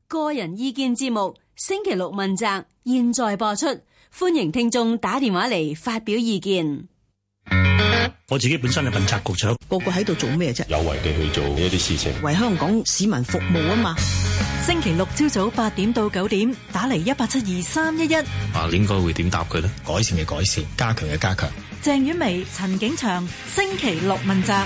個人意見節目星期六問責，現在播出，歡迎聽眾打電話嚟發表意見。 我自己本身係問責局長， 個個喺度做咩啫？ 有為地去做一啲事情， 為香港市民服務啊嘛。 星期六朝早8點到9點，打嚟1872311。 應該會點答佢呢？ 改善嘅改善，加強嘅加強。 鄭婉薇、陳景祥，星期六問責。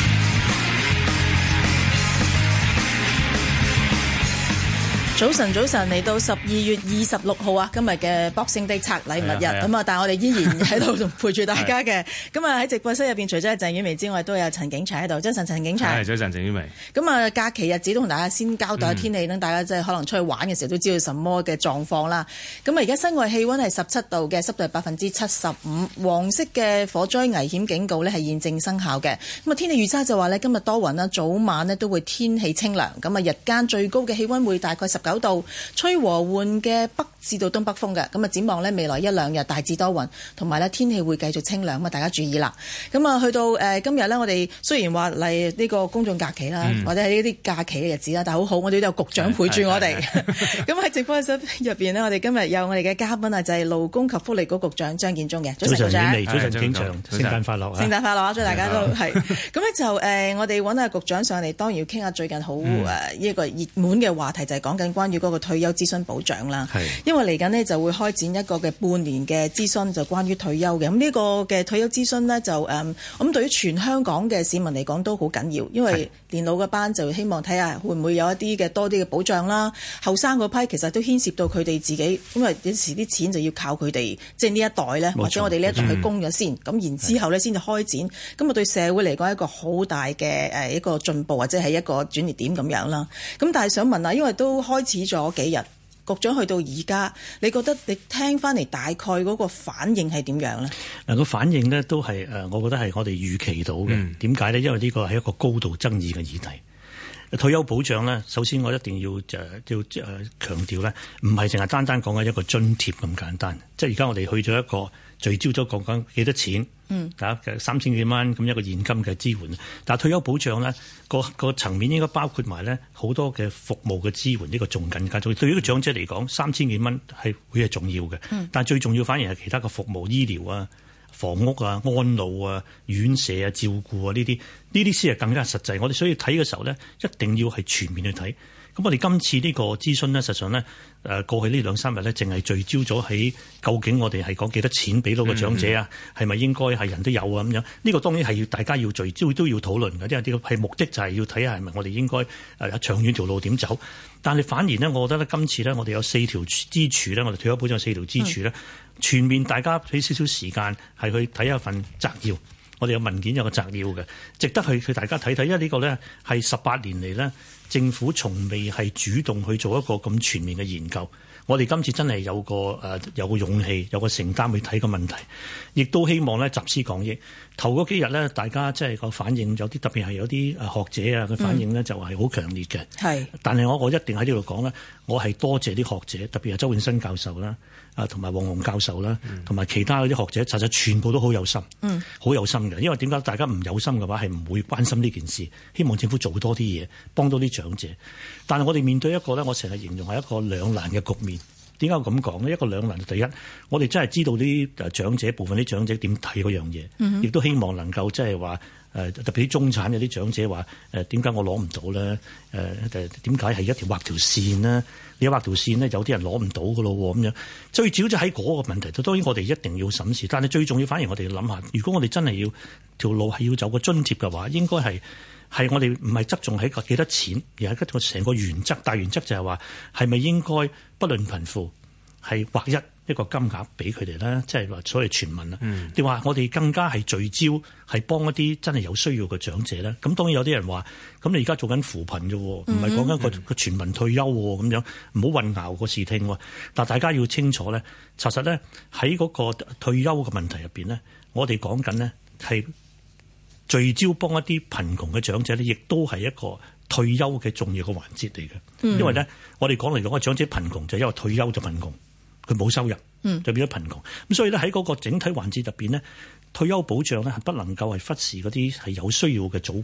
早晨，嚟到12月26號啊，今日嘅 Boxing Day 拆禮物日咁啊，但係我哋依然喺度陪住大家嘅。咁啊喺直播室入邊，除咗係鄭婉薇之外，都有陳景祥喺度。早晨，陳景祥。 早晨，鄭婉薇。 咁啊，假期日子都同大家先交代天氣，等大家即係可能出去玩嘅時候都知道什麼嘅狀況啦。咁啊，而家室外氣溫係17度嘅，濕度係75%，黃色嘅火災危險警告呢係現正生效嘅。咁啊，天氣預測就話呢，今日多雲啦，早晚呢都會天氣清涼。咁啊，日間最高嘅氣溫會大概19度，吹和緩嘅北至到東北風嘅。咁啊，展望呢未來一兩日大致多雲，同埋呢天氣會繼續清涼，咁啊大家注意啦。咁啊，去到今日呢，我哋雖然話嚟呢個公眾假期啦，或者係呢啲假期嘅日子啦，但係好好，我哋都有局長陪住我哋。咁喺直播室入邊呢，我哋今日有我哋嘅嘉賓啊，就係勞工及福利局局長張建宗嘅。早晨，局長。 早晨，景祥，聖誕快樂啊！ 聖誕快樂啊！祝大家都係。咁咧就我哋揾下局長上嚟，當然要傾下最近好一個熱門嘅話題，就係講緊關於嗰個退休諮詢保障啦。因為嚟緊呢就會開展一個嘅半年嘅諮詢，就關於退休嘅。咁呢個嘅退休諮詢呢，就咁對於全香港嘅市民嚟講都好緊要，因為年老嘅班就希望睇下會唔會有一啲嘅多啲嘅保障啦。後生嗰批其實都牽涉到佢哋自己，因為有時啲錢就要靠佢哋，即係呢一代呢，或者我哋呢一代去供咗先，咁然之後呢先至開展。咁啊對社會嚟講係一個好大嘅一個進步，或者係一個轉捩點咁樣啦。咁但係想問下，因為都開始咗幾日，局長去到而家，你覺得你聽翻嚟大概嗰個反應係點樣呢？ 嗱，個反應呢都係我覺得係我哋預期到嘅。點解呢？因為呢個係一個高度爭議嘅議題。退休保障呢，首先我一定要強調呢，唔係淨係單單講緊一個津貼咁簡單。即係而家我哋去咗一個聚焦咗講緊幾多錢，大家3000幾蚊咁一個現金嘅支援。但係退休保障呢個層面應該包括埋呢好多嘅服務嘅支援，呢個仲更加重要。對於個長者嚟講，3000幾蚊係會係重要嘅，但係最重要反而係其他嘅服務、醫療啊、房屋啊、安老啊、院舍啊、照顧啊呢啲先係更加實際。我哋所以睇嘅時候呢，一定要係全面去睇。咁我哋今次呢個諮詢呢，實際上呢，過去呢2-3日呢，淨係聚焦咗喺究竟我哋係講幾多錢俾到個長者啊？係咪應該係人都有啊？咁樣呢個當然係要大家要聚焦都要討論嘅，因為呢個係目的就係要睇下係咪我哋應該長遠條路點走。但係反而呢，我覺得呢，今次呢，我哋有4條支柱呢，我哋退休保障4條支柱呢，全面大家俾少少時間係去睇一份摘要。我哋有文件有個摘要嘅，值得去大家睇睇，因為呢個呢係18年嚟呢，政府從未係主動去做一個咁全面嘅研究。我哋今次真係有個勇氣，有個承擔去睇個問題，亦都希望呢集思廣益。頭嗰幾日呢，大家即係個反應有啲特別係有啲學者啊嘅反應呢，就係好強烈嘅。係，但係我一定喺呢度講呢，我係多謝啲學者，特別係周永新教授啦，同埋黃洪教授啦，同埋其他嗰啲學者，實際全部都好有心，好有心嘅。因為點解大家唔有心嘅話，係唔會關心呢件事。希望政府做多啲嘢，幫多啲長者。但係我哋面對一個呢，我成日形容係一個兩難嘅局面。點解我咁講呢？一個兩難，第一，我哋真係知道啲長者部分啲長者點睇嗰樣嘢，亦都希望能夠即係話特別啲中產有啲長者話點解我攞唔到咧？點解係一條畫條線呢？你畫條線呢，有啲人攞唔到㗎咯喎咁樣。最主要就喺嗰個問題度，當然我哋一定要審視，但係最重要反而我哋要諗下，如果我哋真係要條路係要走個津貼嘅話，應該係我哋唔係側重喺個幾多錢，而係個成個原則。大原則就係話係咪應該不論貧富係劃一個金額俾佢哋咧，即係話所謂全民啦。定話我哋更加係聚焦係幫一啲真係有需要嘅長者咧。咁當然有啲人話，咁你而家做緊扶貧啫，唔係講緊個全民退休咁樣，唔好混淆個視聽。但大家要清楚咧，查實咧喺嗰個退休嘅問題入邊咧，我哋講緊呢係聚焦幫一啲貧窮嘅長者咧，亦都係一個退休嘅重要嘅環節嚟嘅。因為咧，我哋講嚟講，個長者貧窮就因為退休就貧窮。佢冇收入，就變咗貧窮。咁所以咧喺嗰個整體環節入邊呢，退休保障咧係不能夠係忽視嗰啲係有需要嘅組群。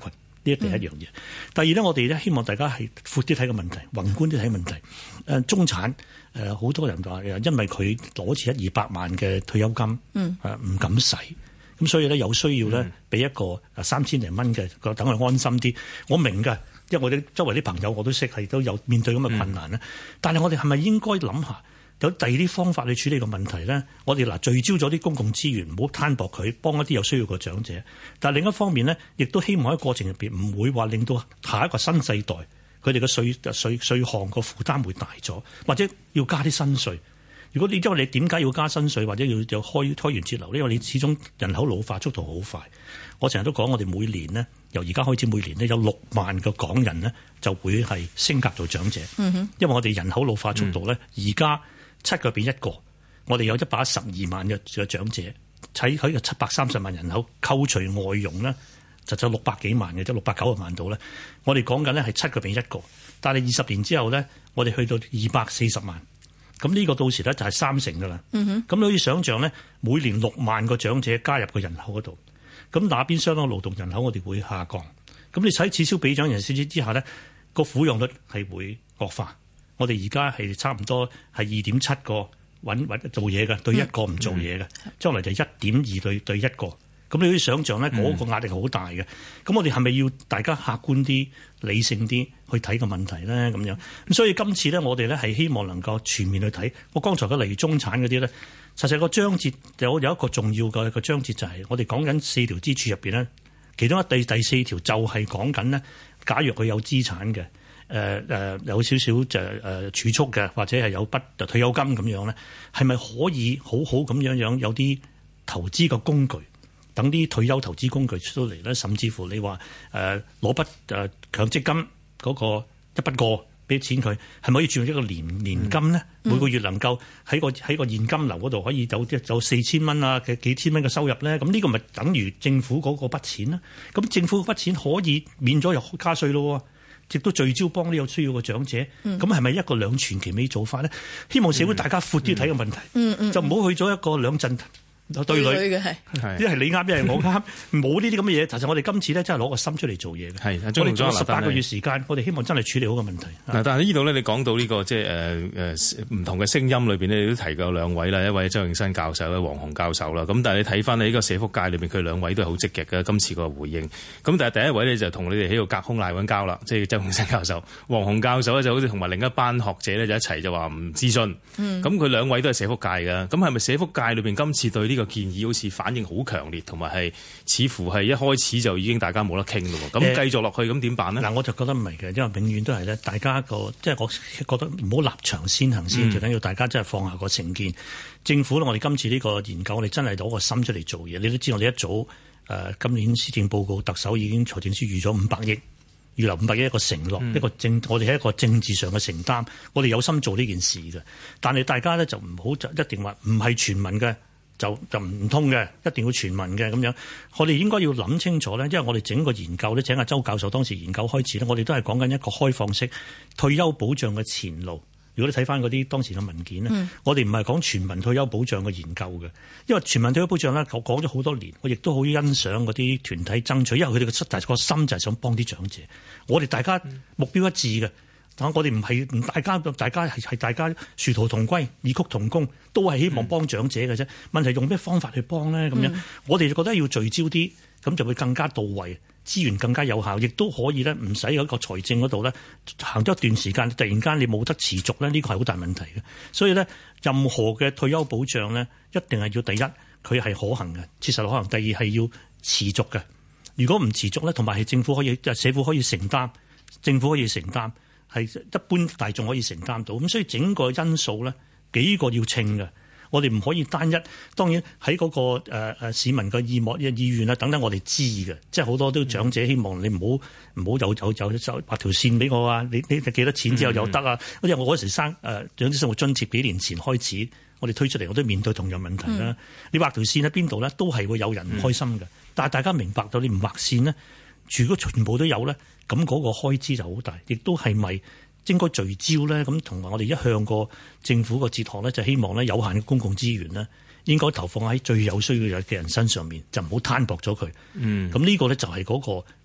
呢第一樣嘢。第二咧，我哋咧希望大家係闊啲睇個問題，宏觀啲睇問題。中產好多人話因為佢攞住100-200萬嘅退休金，唔敢使，咁所以咧有需要咧俾一個3000零蚊嘅，等佢安心啲。我明㗎，因為我哋周圍啲朋友我都識係都有面對咁嘅困難咧。但係我哋係咪應該諗下？有第二啲方法去處理個問題咧，我哋聚焦咗啲公共資源，唔好攤薄佢，幫一啲有需要嘅長者。但係另一方面咧，亦都希望喺過程入邊唔會話令到下一個新世代佢哋嘅稅項個負擔會大咗，或者要加啲新稅。如果因為你點解要加新稅，或者要開源節流呢？因為你始終人口老化速度好快。我成日都講，我哋每年呢，由而家開始每年呢，有6萬個港人呢就會係升格做長者。因為我哋人口老化速度咧，而家7個變1個，我哋有112萬嘅長者，喺個730萬人口，扣除外傭咧，就600幾萬嘅，即690萬度咧。我哋講緊咧係7個變1個，但係20年之後咧，我哋去到240萬，咁呢個到時咧就係30%噶啦。咁你可以想象咧，每年6萬個長者加入個人口嗰度，咁那邊相當勞動人口我哋會下降。咁你喺此消彼長人少之下咧，個撫養率係會惡化。我哋而家係差唔多係2.7個揾做嘢嘅，對1個唔做嘢嘅，將來就1.2對1個。咁你可以想象咧，嗰個壓力好大嘅。咁我哋係咪要大家客觀啲、理性啲去睇個問題咧？咁樣咁，所以今次咧，我哋咧係希望能夠全面去睇。我剛才嘅例如中產嗰啲咧，實際個章節有一個重要嘅個章節就係我哋講緊4條支柱入邊咧，其中第4條就係講緊咧，假如佢有資產嘅。有少少就儲蓄嘅，或者係有筆退休金咁樣咧，係咪可以好好咁樣有啲投資嘅工具，等啲退休投資工具出到嚟咧？甚至乎你話攞筆強積金嗰個一筆過俾錢佢，係咪可以轉一個年金咧？每個月能夠喺個現金流嗰度可以有4000蚊啊嘅幾千蚊嘅收入咧？咁呢個咪等於政府嗰個筆錢啦？咁政府嗰筆錢可以免咗又加稅咯？亦都聚焦幫啲有需要嘅長者，咁係咪一個兩全其美做法咧？希望社會大家闊啲睇個問題，就唔好去咗一個兩陣對壘嘅，一係你啱，一係我啱，冇呢啲咁嘅嘢。其實我哋今次咧真係攞個心出嚟做嘢嘅。係，我哋做18個月時間，我哋希望真係處理好個問題。 但係呢度咧，你講到呢個即係唔同嘅聲音裏邊咧，你都提過兩位啦，一位周永新教授，一位黃洪教授啦。咁但係你睇翻呢個社福界裏邊，佢兩位都係好積極嘅今次個回應。咁但係第一位咧就同你哋喺度隔空賴揾交啦，即係周永新教授。黃洪教授咧就好似同埋另一班學者咧就一齊就話唔諮詢。咁佢兩位都係社福界嘅，咁係咪社福界裏邊今次對呢個建議好似反應好強烈，同埋係似乎係一開始就已經大家冇得傾咯？咁繼續落去咁點辦呢？ 嗱，我就覺得唔係嘅，因為永遠都係咧，大家個即係我覺得唔好立場先行先，最緊要大家真係放下個成見。政府咧，我哋今次呢個研究，我哋真係攞個心出嚟做嘢。你都知我哋一早今年施政報告，特首已經財政司預咗500億，預留500億一個承諾，我哋係一個政治上嘅承擔，我哋有心做呢件事嘅。但係大家咧就唔好一定話唔係全民嘅。就唔通嘅，一定要全民嘅咁樣。我哋應該要諗清楚咧，因為我哋整個研究咧，請阿周教授當時研究開始咧，我哋都係講緊一個開放式退休保障嘅前路。如果你睇翻嗰啲當時嘅文件咧，我哋唔係講全民退休保障嘅研究嘅，因為全民退休保障咧，我講咗好多年，我亦都好欣賞嗰啲團體爭取，因為佢哋嘅個心就係想幫啲長者。我哋大家目標一致嘅。我哋唔係大家係大家殊途同歸、異曲同工，都係希望幫長者嘅啫。問題用咩方法去幫咧？咁樣我哋就覺得要聚焦啲，咁就會更加到位，資源更加有效，亦都可以咧唔使喺個財政嗰度咧行咗一段時間，突然間你冇得持續咧，呢個係好大問題嘅。所以咧，任何嘅退休保障咧，一定係要第一佢係可行嘅，切實可行；第二係要持續嘅。如果唔持續咧，同埋係政府可以社會可以承擔，政府可以承擔。係一般大眾可以承擔到，咁所以整個因素咧幾個要稱嘅，我哋唔可以單一。當然喺嗰個市民嘅意願啊等等，我哋知嘅，即係好多都長者希望你唔好有畫條線俾我啊！你幾多錢之後有得啊？因為我嗰時生長者生活津貼幾年前開始，我哋推出嚟，我都面對同樣問題啦。你畫條線喺邊度咧，都係會有人唔開心嘅。但係大家明白到你唔畫線呢，如果全部都有咧。咁嗰個開支就好大，亦都係咪應該聚焦咧？咁同埋我哋一向個政府個哲學咧，就希望咧有限嘅公共資源咧，應該投放喺最有需要嘅人身上面，就唔好攤薄咗佢。咁呢個咧就係嗰個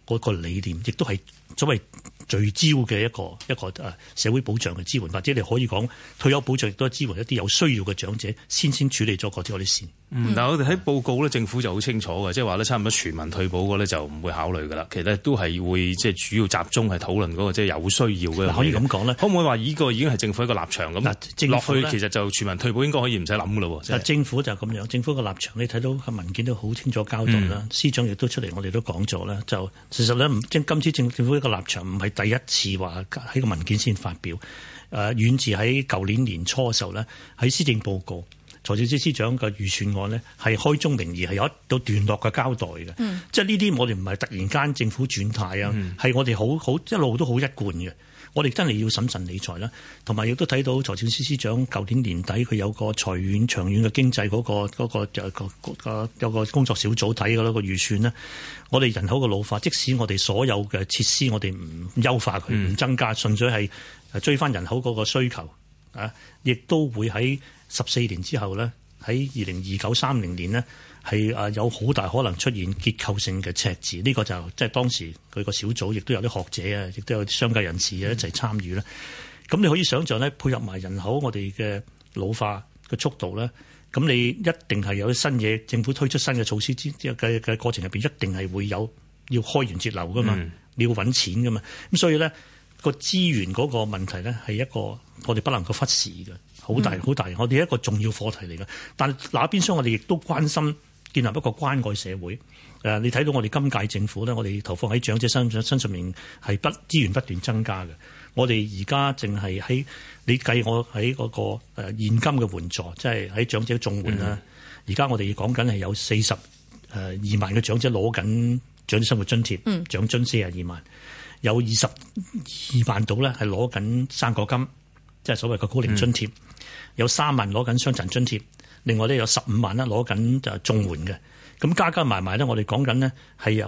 嗰個理念，亦都係所謂聚焦嘅一個社會保障嘅支援，或者你可以講退休保障亦都係支援一啲有需要嘅長者，先處理咗嗰啲線。 嗱，我哋喺報告咧，政府就好清楚嘅，即係話咧，差唔多全民退保嗰咧就唔會考慮噶啦。其實都係會即係主要集中係討論嗰個即係有需要嘅。 可以咁講咧， 可唔可以話呢個已經係政府一個立場咁落去？其實就全民退保應該可以唔使諗噶咯。 政府就咁樣，政府嘅立場你睇到個文件都好清楚交代啦。司長亦都出嚟，我哋都講咗啦。就事實咧，今次政府一個立場唔係第一次話喺個文件先發表。遠自喺舊年年初嘅時候咧，喺施政報告。財政司司長嘅預算案呢，係開宗明義係有一到段落嘅交代嘅，即係呢啲我哋唔係突然間政府轉態啊，係我哋好一路都好一貫嘅。我哋真係要審慎理財啦，同埋亦都睇到財政司司長舊年年底佢有個長遠嘅經濟有個工作小組睇嘅嗰個預算呢。我哋人口嘅老化，即使我哋所有嘅設施我哋唔優化佢，唔增加，純粹係追翻人口嗰個需求啊，亦都會喺14年之後呢，喺2029-30年呢，係有好大可能出現結構性嘅赤字。呢個就即係當時佢個小組亦都有啲學者啊，亦都有啲商界人士一齊參與啦。咁你可以想象呢，配合埋人口我哋嘅老化嘅速度呢，咁你一定係有啲新嘢，政府推出新嘅措施嘅過程入邊，一定係會有要開源節流噶嘛，你要揾錢噶嘛。咁所以呢，個資源嗰個問題呢，係一個我哋不能夠忽視嘅。好大，我哋一個重要課題嚟嘅。但係嗱，邊廂我哋亦都關心建立一個關愛社會。你睇到我哋今屆政府咧，我哋投放喺長者身上面係資源不斷增加嘅。我哋而家淨係喺你計我喺嗰個現金嘅援助，即係喺長者綜援啦。而家我哋講緊係有42萬嘅長者攞緊長者生活津貼，長津42萬，有22萬度咧係攞緊生果金，即係所謂嘅高齡津貼。有3萬攞緊傷殘津貼，另外咧有15萬啦攞緊就綜援嘅，咁加埋埋咧，我哋講緊呢係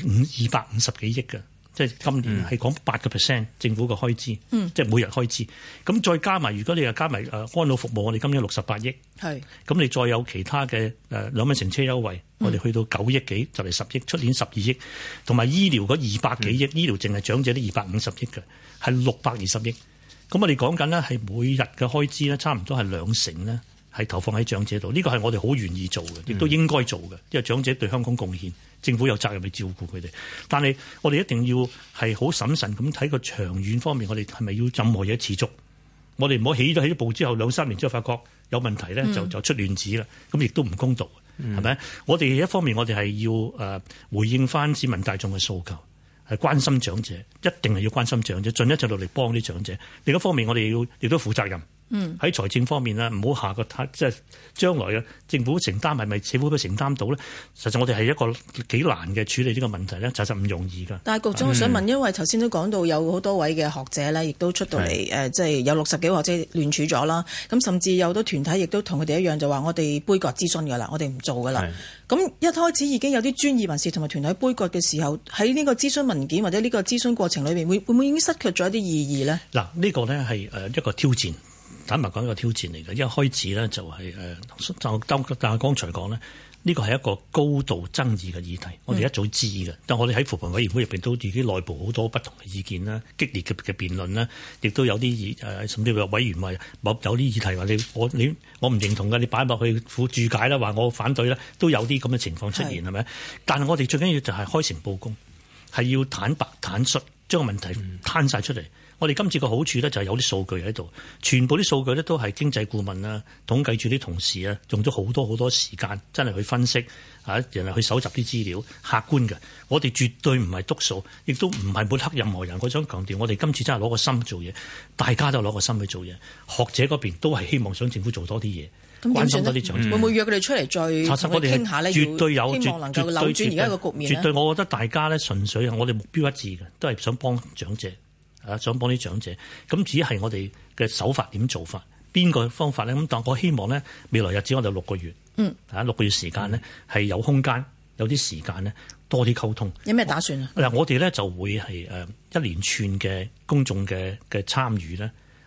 250幾億嘅，即係今年係講8% 政府嘅開支，即係每日開支。咁再加埋，如果你又加埋安老服務，我哋今年68億，咁你再有其他嘅2蚊乘車優惠，我哋去到9億幾，就嚟10億，出年12億，同埋醫療嗰200幾億，醫療淨係長者啲250億嘅，係620億。咁我哋講緊呢係每日嘅開支呢，差唔多係2成呢，係投放喺長者度。呢個係我哋好願意做嘅，亦都應該做嘅，因為長者對香港貢獻，政府有責任去照顧佢哋。但係我哋一定要係好審慎咁睇個長遠方面，我哋係咪要任何嘢持續？我哋唔好起咗步之後2-3年之後發覺有問題呢，就出亂子啦。咁亦都唔公道，係咪？我哋一方面我哋係要回應翻市民大眾嘅訴求。係關心長者，一定係要關心長者，盡一切努力幫啲長者。另一方面，我哋要亦都負責任。喺財政方面咧，唔好下個即係將來嘅政府承擔係咪社會都承擔到咧？實際我哋係一個幾難嘅處理呢個問題咧，實唔容易㗎。 但係局長，我想問，因為頭先都講到有好多位嘅學者咧，亦都出到嚟即係有60幾個學者聯署咗啦。咁甚至有好多團體亦都同佢哋一樣，就話我哋杯葛諮詢㗎啦，我哋唔做㗎啦。咁一開始已經有啲專業人士同埋團體杯葛嘅時候，喺呢個諮詢文件或者呢個諮詢過程裏面，會唔會已經失卻咗一啲意義呢？嗱， 呢個呢係一個挑戰。坦白講，一個挑戰嚟嘅。一開始呢就係但係剛才講呢，呢個係一個高度爭議嘅議題，我哋一早知嘅。但我哋喺扶貧委員會入邊都自己內部好多不同嘅意見啦，激烈嘅辯論啦，亦都有啲甚至話委員話有啲議題話我唔認同嘅，你擺落去附注解啦，話我反對啦，都有啲咁嘅情況出現係咪？但係我哋最緊要就係開誠佈公，係要坦白坦率將個問題攤晒出嚟。我哋今次個好處咧就係有啲數據喺度，全部啲數據咧都係經濟顧問啊、統計處啲同事啊，用咗好多時間，真係去分析啊，人哋去搜集啲資料，客觀嘅。我哋絕對唔係篤數，亦都唔係抹黑任何人。我想強調，我哋今次真係攞個心做嘢，大家都攞個心去做嘢。學者嗰邊都係希望想政府做多啲嘢，關心多啲長者。會唔會約佢哋出嚟再傾下呢？ 絕對有， 希望能夠扭轉而家個局面。 絕對，我覺得大家咧純粹係我哋目標一致嘅，都係想幫長者。想幫啲長者，咁只係我哋嘅手法點做法，邊個方法咧？咁但我希望咧，未來日子我哋6個月，6個月時間咧係有空間，有啲時間咧多啲溝通。 有咩打算啊？ 嗱，我哋咧就會係一連串嘅公眾嘅參與咧，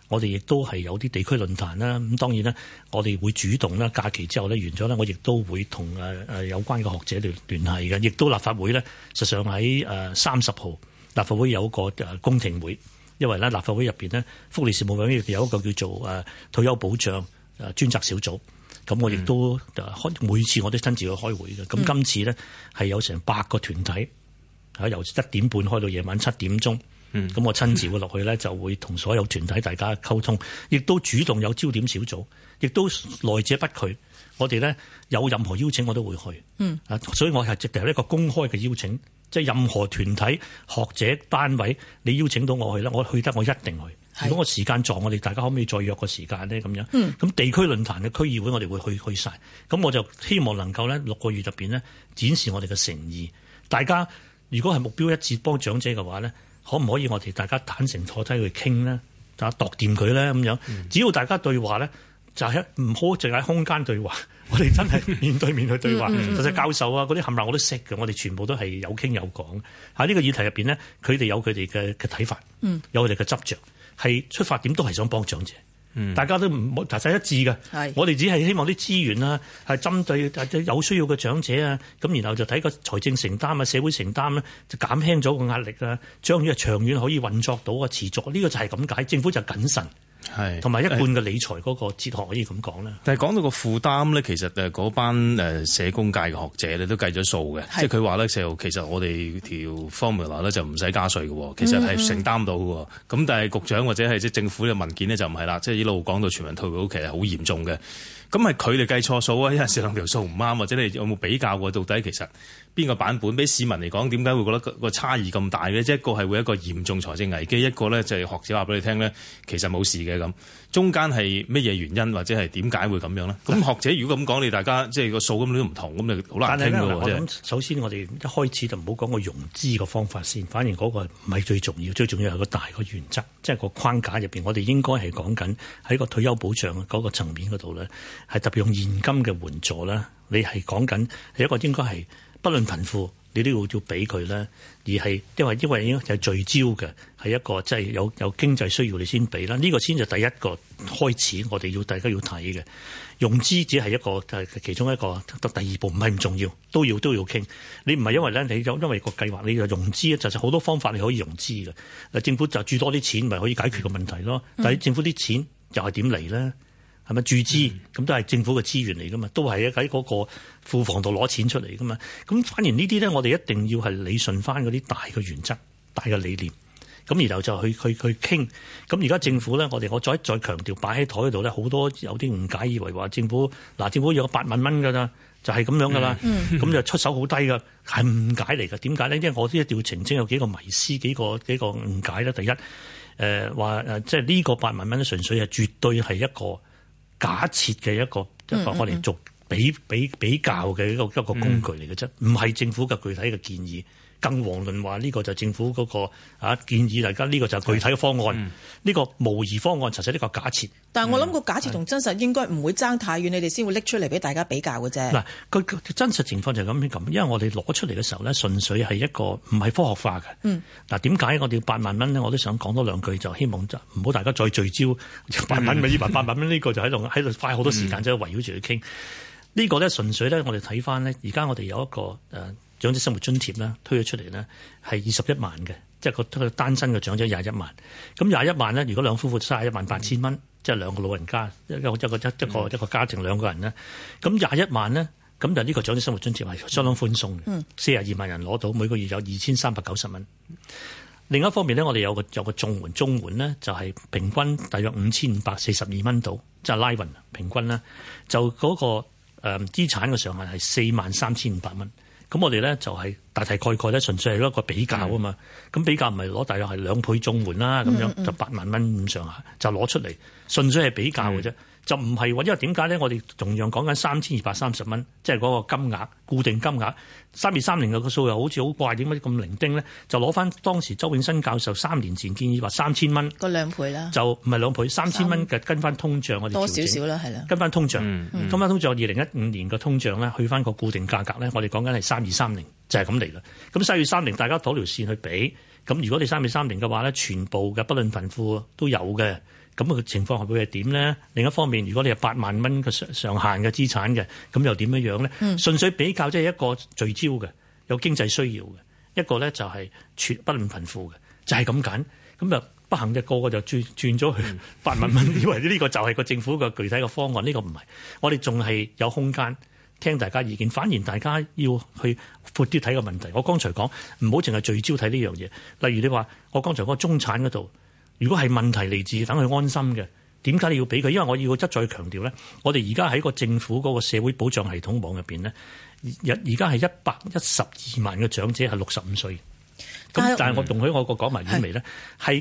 我哋亦都係有啲地區論壇啦。咁當然啦，我哋會主動啦，假期之後咧完咗咧，我亦都會同有關嘅學者聯繫嘅。亦都立法會咧，實際上喺30號立法會有個公聽會，因為咧立法會入邊呢，福利事務委員會有一個叫做退休保障專責小組。咁我亦都每次我都親自去開會嘅。咁今次呢，係有成8個團體，由1點半開到夜晚7點鐘。咁我親自會落去呢，就會同所有團體大家溝通，亦都主動有焦點小組，亦都來者不拒。我哋呢，有任何邀請我都會去。所以我係直頭一個公開嘅邀請，即係任何團體、學者、單位，你邀請到我去呢，我去得我一定去。如果我時間撞，我哋大家可唔可以再約個時間呢？咁樣，咁地區論壇嘅區議會我哋會去晒。咁我就希望能夠呢6個月入邊呢，展示我哋嘅誠意。大家如果係目標一致幫長者嘅話呢，可唔可以我哋大家坦誠坐低去傾呢？大家度掂佢呢？咁樣。只要大家對話呢，就係唔好淨係空間對話，我哋真係面對面去對話。實際教授啊，嗰啲冚唪唥我都識嘅，我哋全部都係有傾有講。喺呢個議題入邊呢，佢哋有佢哋嘅睇法，有佢哋嘅執着。係出發點都係想幫長者，大家都唔大細一致嘅。我哋只係希望啲資源啊，係針對有需要嘅長者啊，咁然後就睇個財政承擔啊、社會承擔咧，就減輕咗個壓力啊，將呢個長遠可以運作到啊、持續。呢個就係咁解，政府就謹慎。同埋一貫嘅理財嗰個哲學可以咁講啦。但係講到個負擔咧，其實嗰班社工界嘅學者咧都計咗數嘅，即係佢話咧就其實我哋條 formula 咧就唔使加稅嘅，其實係承擔到嘅。咁但係局長或者係即係政府嘅文件咧就唔係啦，即係一路講到全民退保其實好嚴重嘅。咁係佢哋計錯數啊！有陣時兩條數唔啱，或者你有冇比較過到底其實邊個版本俾市民嚟講點解會覺得個差異咁大嘅？即係一個係會一個嚴重財政危機，一個咧就係學者話俾你聽咧，其實冇事嘅咁。中間係乜嘢原因或者係點解會咁樣咧？咁學者如果咁講，你大家即係個數咁都唔同，咁就好難傾㗎喎。我諗首先我哋一開始就唔好講個融資個方法先，反而嗰個唔係最重要，最重要係個大個原則，即係個框架入邊，我哋應該係講緊喺個退休保障嗰個層面嗰度咧，係特別用現金嘅援助啦。你係講緊係一個應該係不論貧富，你都要俾佢咧，而係因為應該係聚焦嘅，係一個即係有經濟需要你先俾啦。呢個先就第一個開始，我哋大家要睇嘅融資只係一個其中一個，第二步唔係唔重要，都要傾。你唔係因為咧，你因為個計劃你就融資咧，就係好多方法你可以融資嘅。嗱，政府就注多啲錢，咪可以解決個問題咯。但係政府啲錢又係點嚟咧？係咪注資？咁都係政府嘅資源嚟噶嘛，都係喺嗰個庫房度攞錢出嚟噶嘛。咁反而呢啲咧，我哋一定要係理順翻嗰啲大嘅原則、大嘅理念。咁然後就去傾。咁而家政府咧，我再強調擺喺台度咧，好多有啲誤解，以為話政府有8萬蚊㗎啦，就係咁樣㗎啦。咁就出手好低㗎，係誤解嚟㗎。點解咧？因為我都一定要澄清有幾個迷思、幾個誤解啦。第一，話即係呢個8萬蚊純粹係絕對係一個假設嘅一個我哋做比較嘅一個工具嚟嘅啫，唔係政府嘅具體嘅建議。更遑論話呢個就政府嗰個建議，大家呢個就具體嘅方案，呢個模擬方案，實際呢個假設。但係我諗個假設同真實應該唔會爭太遠，你哋先會拎出嚟俾大家比較嘅啫。嗱，個真實情況就係咁，因為我哋攞出嚟嘅時候咧，純粹係一個唔係科學化嘅。嗱，點解我哋要8萬蚊咧？我都想講多兩句，就希望就唔好大家再聚焦8萬蚊，以為8萬蚊呢個就喺度花好多時間，即係圍繞住去傾。呢個咧純粹咧，我哋睇翻咧，而家我哋有一個長者生活津貼啦，推咗出嚟呢係21萬嘅，即係個單身嘅長者21萬。咁21萬呢，如果兩夫婦31萬8千蚊，即係兩個老人家，一個家庭兩個人呢，咁21萬呢，咁就呢個長者生活津貼係相當寬鬆嘅，42萬人攞到，每個月有2390蚊。另一方面呢，我哋有個綜援呢，就係平均大約5542蚊到，即係拉勻平均啦，就嗰個資產嘅上限係43500蚊。咁我哋咧就係大概咧，純粹係一個比較啊嘛。咁比較唔係攞大約係2倍綜援啦，咁樣就8萬蚊咁上下，就攞出嚟，純粹係比較嘅啫。就唔係話，因為點解咧？我哋同樣講緊3230蚊，即係嗰個金額固定金額3230嘅個數又好似好怪，點解咁零丁咧？就攞翻當時周永新教授3年前建議話3000蚊，個2倍啦，就唔係2倍，3000蚊嘅跟翻通脹，我哋多少少啦，係啦，跟翻通脹，跟翻通脹2015年嘅通脹咧，去翻個固定價格咧，我哋講緊係3230，就係咁嚟啦。咁3230大家攞條線去比，咁如果你3230嘅話咧，全部嘅不論貧富都有嘅。 咁個情況會係點咧？另一方面，如果你係8萬蚊嘅上限嘅資產嘅，咁又點樣咧？純粹比較即係一個聚焦嘅，有經濟需要嘅，一個咧就係不論貧富嘅，就係咁揀。咁就不幸嘅個個就轉咗去8萬蚊，以為呢個就係個政府嘅具體嘅方案。呢個唔係，我哋仲係有空間聽大家意見，反而大家要去闊啲睇個問題。我剛才講唔好淨係聚焦睇呢樣嘢。例如你話我剛才嗰個中產嗰度，如果係問題嚟自等佢安心嘅，點解你要俾佢？因為我要一再強調咧，我哋而家喺個政府嗰個社會保障系統網入邊咧，而家係112萬嘅長者係65歲。咁但係我容許我個講埋遠微咧，係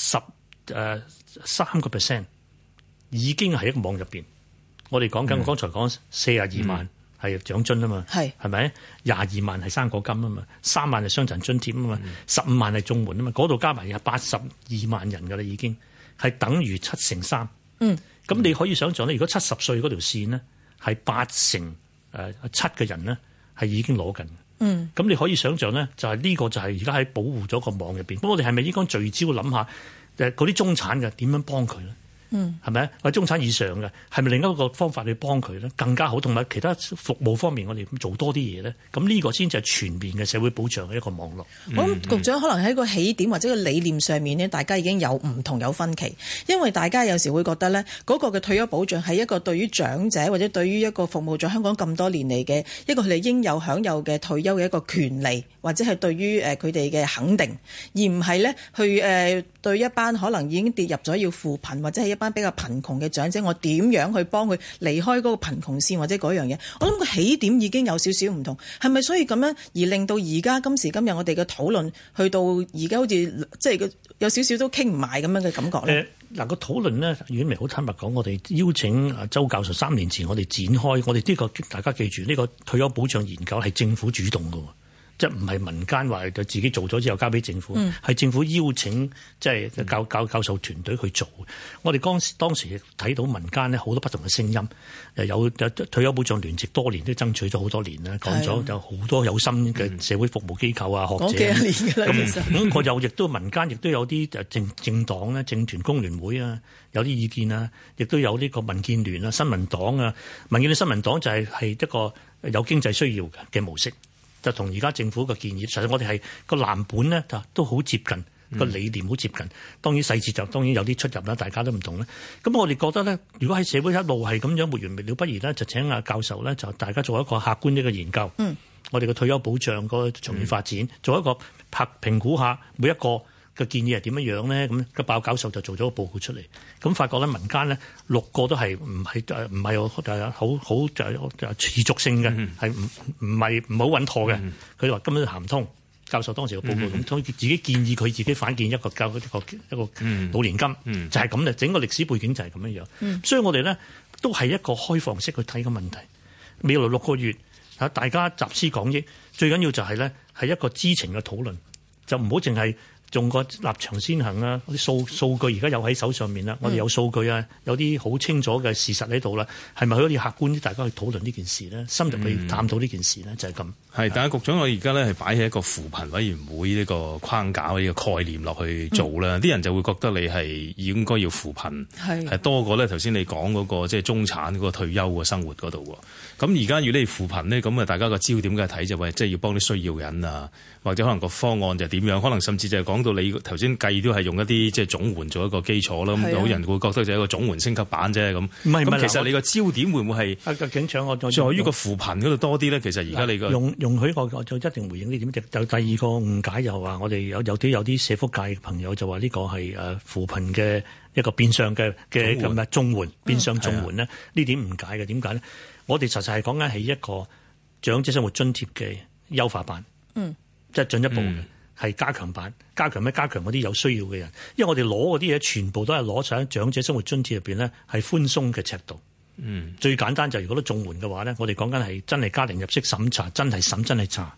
73%已經係一個網入邊。我哋講緊我剛才講42萬係長津啊嘛，係咪？22萬係生果金啊嘛，3萬係傷殘津貼啊嘛，15萬係綜援啊嘛，嗰度加埋有82萬人㗎啦，已經係等於3%。咁你可以想象咧，如果70歲嗰條線呢，係87%嘅人呢，係已經攞緊。咁你可以想象咧，就係呢個就係而家喺保護咗個網入邊。咁我哋係咪應該聚焦諗下嗰啲中產嘅點樣幫佢咧？係咪？或者中產以上嘅係咪另一個方法去幫佢咧？更加好，同埋其他服務方面，我哋做多啲嘢咧。咁呢個先至係全面嘅社會保障嘅一個網絡。 我諗局長可能喺個起點或者個理念上面呢，大家已經有唔同有分歧，因為大家有時會覺得呢嗰個嘅退休保障係一個對於長者或者對於一個服務咗香港咁多年嚟嘅一個佢哋應有享有嘅退休嘅一個權利，或者係對於佢哋嘅肯定，而唔係呢去對一班可能已經跌入咗要扶貧或者係一班比較貧窮嘅長者，我點樣去幫佢離開嗰個貧窮線或者嗰樣嘢？我諗個起點已經有少少唔同，係咪？所以咁樣而令到而家今時今日我哋嘅討論去到而家好似即係有少少都傾唔埋咁樣嘅感覺咧？ 嗱個討論呢，遠明好坦白講，我哋邀請周教授3年前我哋展開，我哋呢個大家記住呢個退休保障研究係政府主動嘅。即係唔係民間話就自己做咗之後交俾政府，係政府邀請即係教授團隊去做。我哋當時睇到民間呢好多不同嘅聲音，有退休保障聯席多年都爭取咗好多年啦，講咗有好多有心嘅社會服務機構啊、學者。 講幾多年㗎啦，其實。 咁我又亦都民間亦都有啲政黨咧、政團、工聯會啊，有啲意見啊，亦都有呢個民建聯啊、新民黨啊。民建聯、新民黨就係一個有經濟需要嘅模式。就同而家政府嘅建議，實際我哋係個藍本呢，就都好接近個理念，好接近。當然細節就當然有啲出入啦，大家都唔同啦。咁我哋覺得呢，如果喺社會一路係咁樣沒完沒了，不如呢就請阿教授呢，就大家做一個客觀呢個研究。我哋嘅退休保障個長遠發展，做一個評估下每一個嘅建議係點樣咧？咁個鮑教授就做咗個報告出嚟，咁發覺咧民間咧6個都係唔係好持續性嘅，係唔好穩妥嘅。佢哋話根本行唔通。教授當時個報告咁，所以自己建議佢自己反建一個老年金，就係咁嘅。整個歷史背景就係咁樣樣。所以我哋咧都係一個開放式去睇個問題。未來6個月大家集思廣益，最緊要就係咧係一個知情嘅討論，就唔好淨係用個立場先行啦，啲數據而家有喺手上面啦，我哋有數據啊，有啲好清楚嘅事實喺度啦，係咪可以客觀啲大家去討論呢件事咧？深入去探討呢件事咧，就係咁。係， 但係局長，我而家咧係擺喺一個扶貧委員會呢個框架呢個概念落去做啦，啲人就會覺得你係應該要扶貧，係多過咧頭先你講嗰個即係中產嗰個退休嘅生活嗰度喎。咁而家如果你扶貧咧，咁啊大家個焦點嘅睇就係即係要幫啲需要人啊，或者可能個方案就點樣，可能甚至就係講到你頭先計都係用一啲即係綜援做一個基礎啦。咁有人會覺得就係一個綜援升級版啫咁。唔係，咁其實你個焦點會唔會係警長我在於個扶貧嗰度多啲咧？其實而家你個容許我就一定回應呢點。就第二個誤解又話我哋有啲社福界朋友就話呢個係扶貧嘅一個變相嘅咁嘅綜援變相綜援咧，呢點誤解嘅。點解咧？我哋實際係講緊係一個長者生活津貼嘅優化版，即係進一步嘅係加強版。加強咩？加強嗰啲有需要嘅人，因為我哋攞嗰啲嘢全部都係攞上長者生活津貼入邊咧係寬鬆嘅尺度。最簡單就係如果都綜援嘅話咧，我哋講緊係真係家庭入息審查，真係查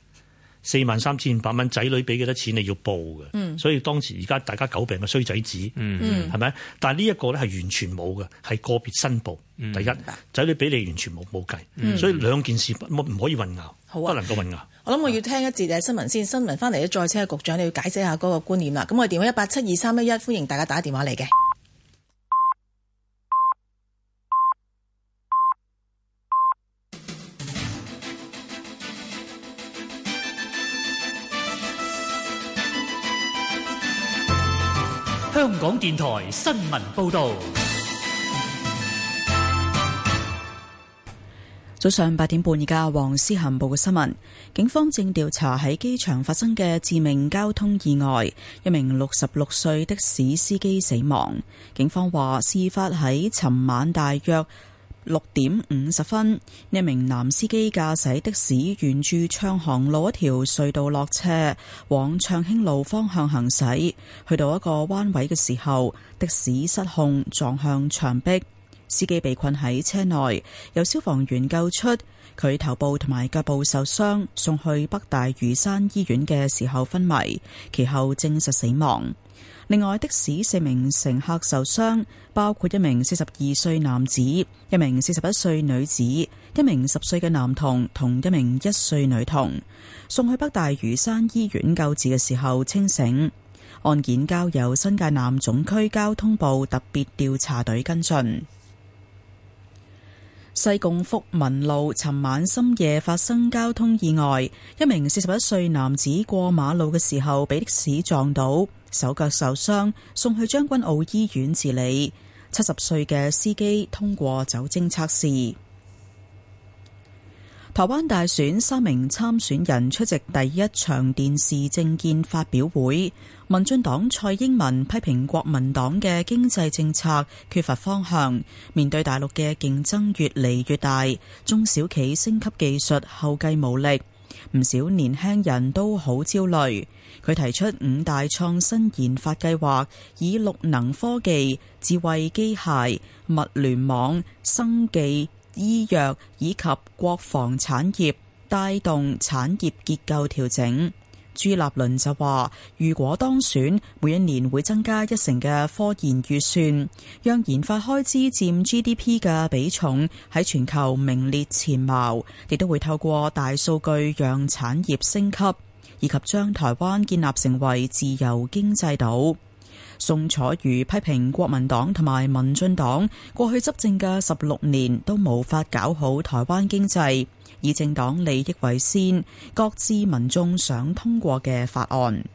43,500蚊，仔女俾幾多錢你要報嘅。所以當時而家大家詬病嘅衰仔紙，係咪？但係呢一個咧係完全冇嘅，係個別申報。第一，仔女俾你完全冇計，所以兩件事唔可以混淆，不能夠混淆。 我諗我要聽一節新聞先，新聞翻嚟咧再請局長你要解釋下嗰個觀念啦。咁我哋電話1872311，歡迎大家打電話嚟嘅。 香港電台新聞報導。 早上8點半，而家黃思涵報嘅新聞。警方正調查喺機場發生嘅致命交通意外，一名66歲的士司機死亡。警方話，事發喺尋晚大約6點50分，一名男司機駕駛的士沿住暢航路一條隧道落車，往暢興路方向行駛。去到一個彎位嘅時候，的士失控撞向牆壁。司機被困喺車內，由消防員救出，佢頭部同埋腳部受傷，送去北大嶼山醫院嘅時候昏迷，其後證實死亡。另外，的士4名乘客受傷，包括一名42歲男子、一名41歲女子、一名10歲嘅男童同一名1歲女童，送去北大嶼山醫院救治嘅時候清醒。案件交由新界南總區交通部特別調查隊跟進。西貢福民路尋晚深夜發生交通意外，一名41歲男子過馬路嘅時候被的士撞到，手腳受傷，送去將軍澳醫院治理。70歲嘅司機通過酒精測試。台灣大選3名參選人出席第一場電視政見發表會，民進黨蔡英文批評國民黨嘅經濟政策缺乏方向，面對大陸嘅競爭越嚟越大，中小企升級技術後繼無力，唔少年輕人都好焦慮。佢提出5大創新研發計劃，以綠能科技、智慧機械、物聯網、生技、醫藥以及國防產業帶動產業結構調整。朱立倫就話，如果當選，每一年會增加1成嘅科研預算，讓研發開支佔 GDP 嘅比重喺全球名列前茅，亦都會透過大數據讓產業升級，以及將台灣建立成為自由經濟島。宋楚瑜批評國民黨同埋民進黨過去執政嘅16年都無法搞好台灣經濟，以政黨利益為先，擱置民眾想通過嘅法案。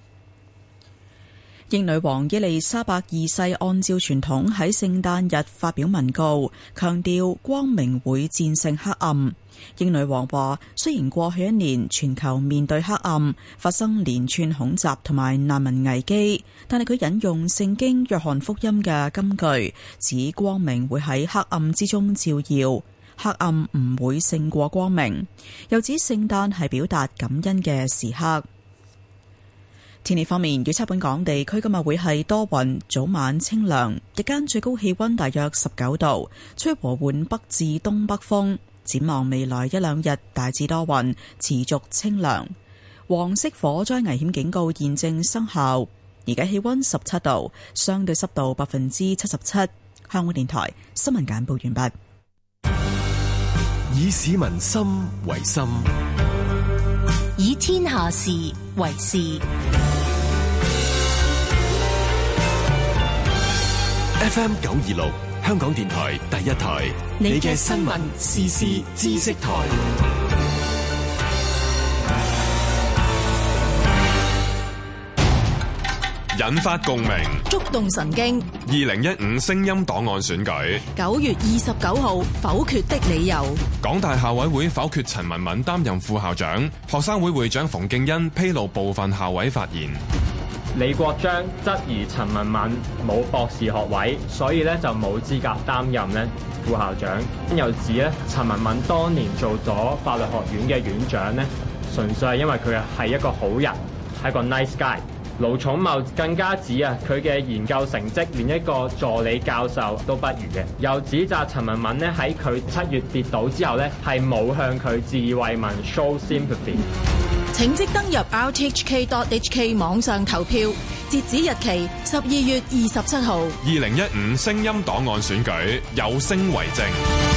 英女王伊麗莎白二世按照傳統喺聖誕日發表文告，強調光明會戰勝黑暗。英女王話，雖然過去1年全球面對黑暗，發生連串恐襲同埋難民危機，但係佢引用聖經約翰福音嘅金句，指光明會喺黑暗之中照耀，黑暗唔會勝過光明。又指聖誕係表達感恩嘅時刻。天氣方面，預測本港地區今日會係多雲，早晚清涼，日間最高氣溫大約19度，吹和緩北至東北風。展望未來1-2日，大致多雲，持續清涼。黃色火災危險警告現正生效。而家氣溫17度，相對濕度77%。香港電台新聞簡報完畢。 以市民心為心， 以天下事為事。 FM 926，香港電台第一台，你嘅新聞時事知識台， 引發共鳴， 觸動神經。 2015聲音檔案選舉 9月29號否決的理由。 港大校委會否決陳文敏擔任副校長，學生會會長馮敬恩披露部分校委發言。 李國章質疑陳文敏冇博士學位，所以咧就冇資格擔任咧副校長。又指咧陳文敏當年做咗法律學院嘅院長咧，純粹係因為佢係一個好人，係一個 nice guy。盧寵茂更加指啊，佢嘅研究成績連一個助理教授都不如嘅，又指責陳文敏咧喺佢7月跌倒之後咧係冇向佢致慰問 show sympathy。 請即登入 rthk.hk 網上投票，截止日期12月27號。 2015聲音檔案選舉，有聲為證。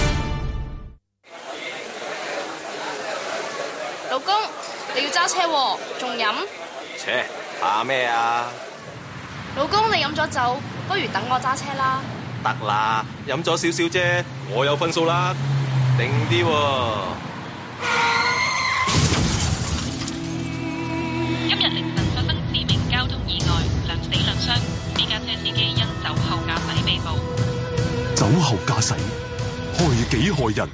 老公，你要揸車喎，仲飲？ 切，怕咩啊？ 老公，你飲咗酒，不如等我揸車啦。 得啦，飲咗少少啫，我有分數啦，定啲喎。 今日凌晨發生致命交通意外，兩死兩傷，私家車車司機因酒後駕駛被捕。 酒後駕駛害己害人。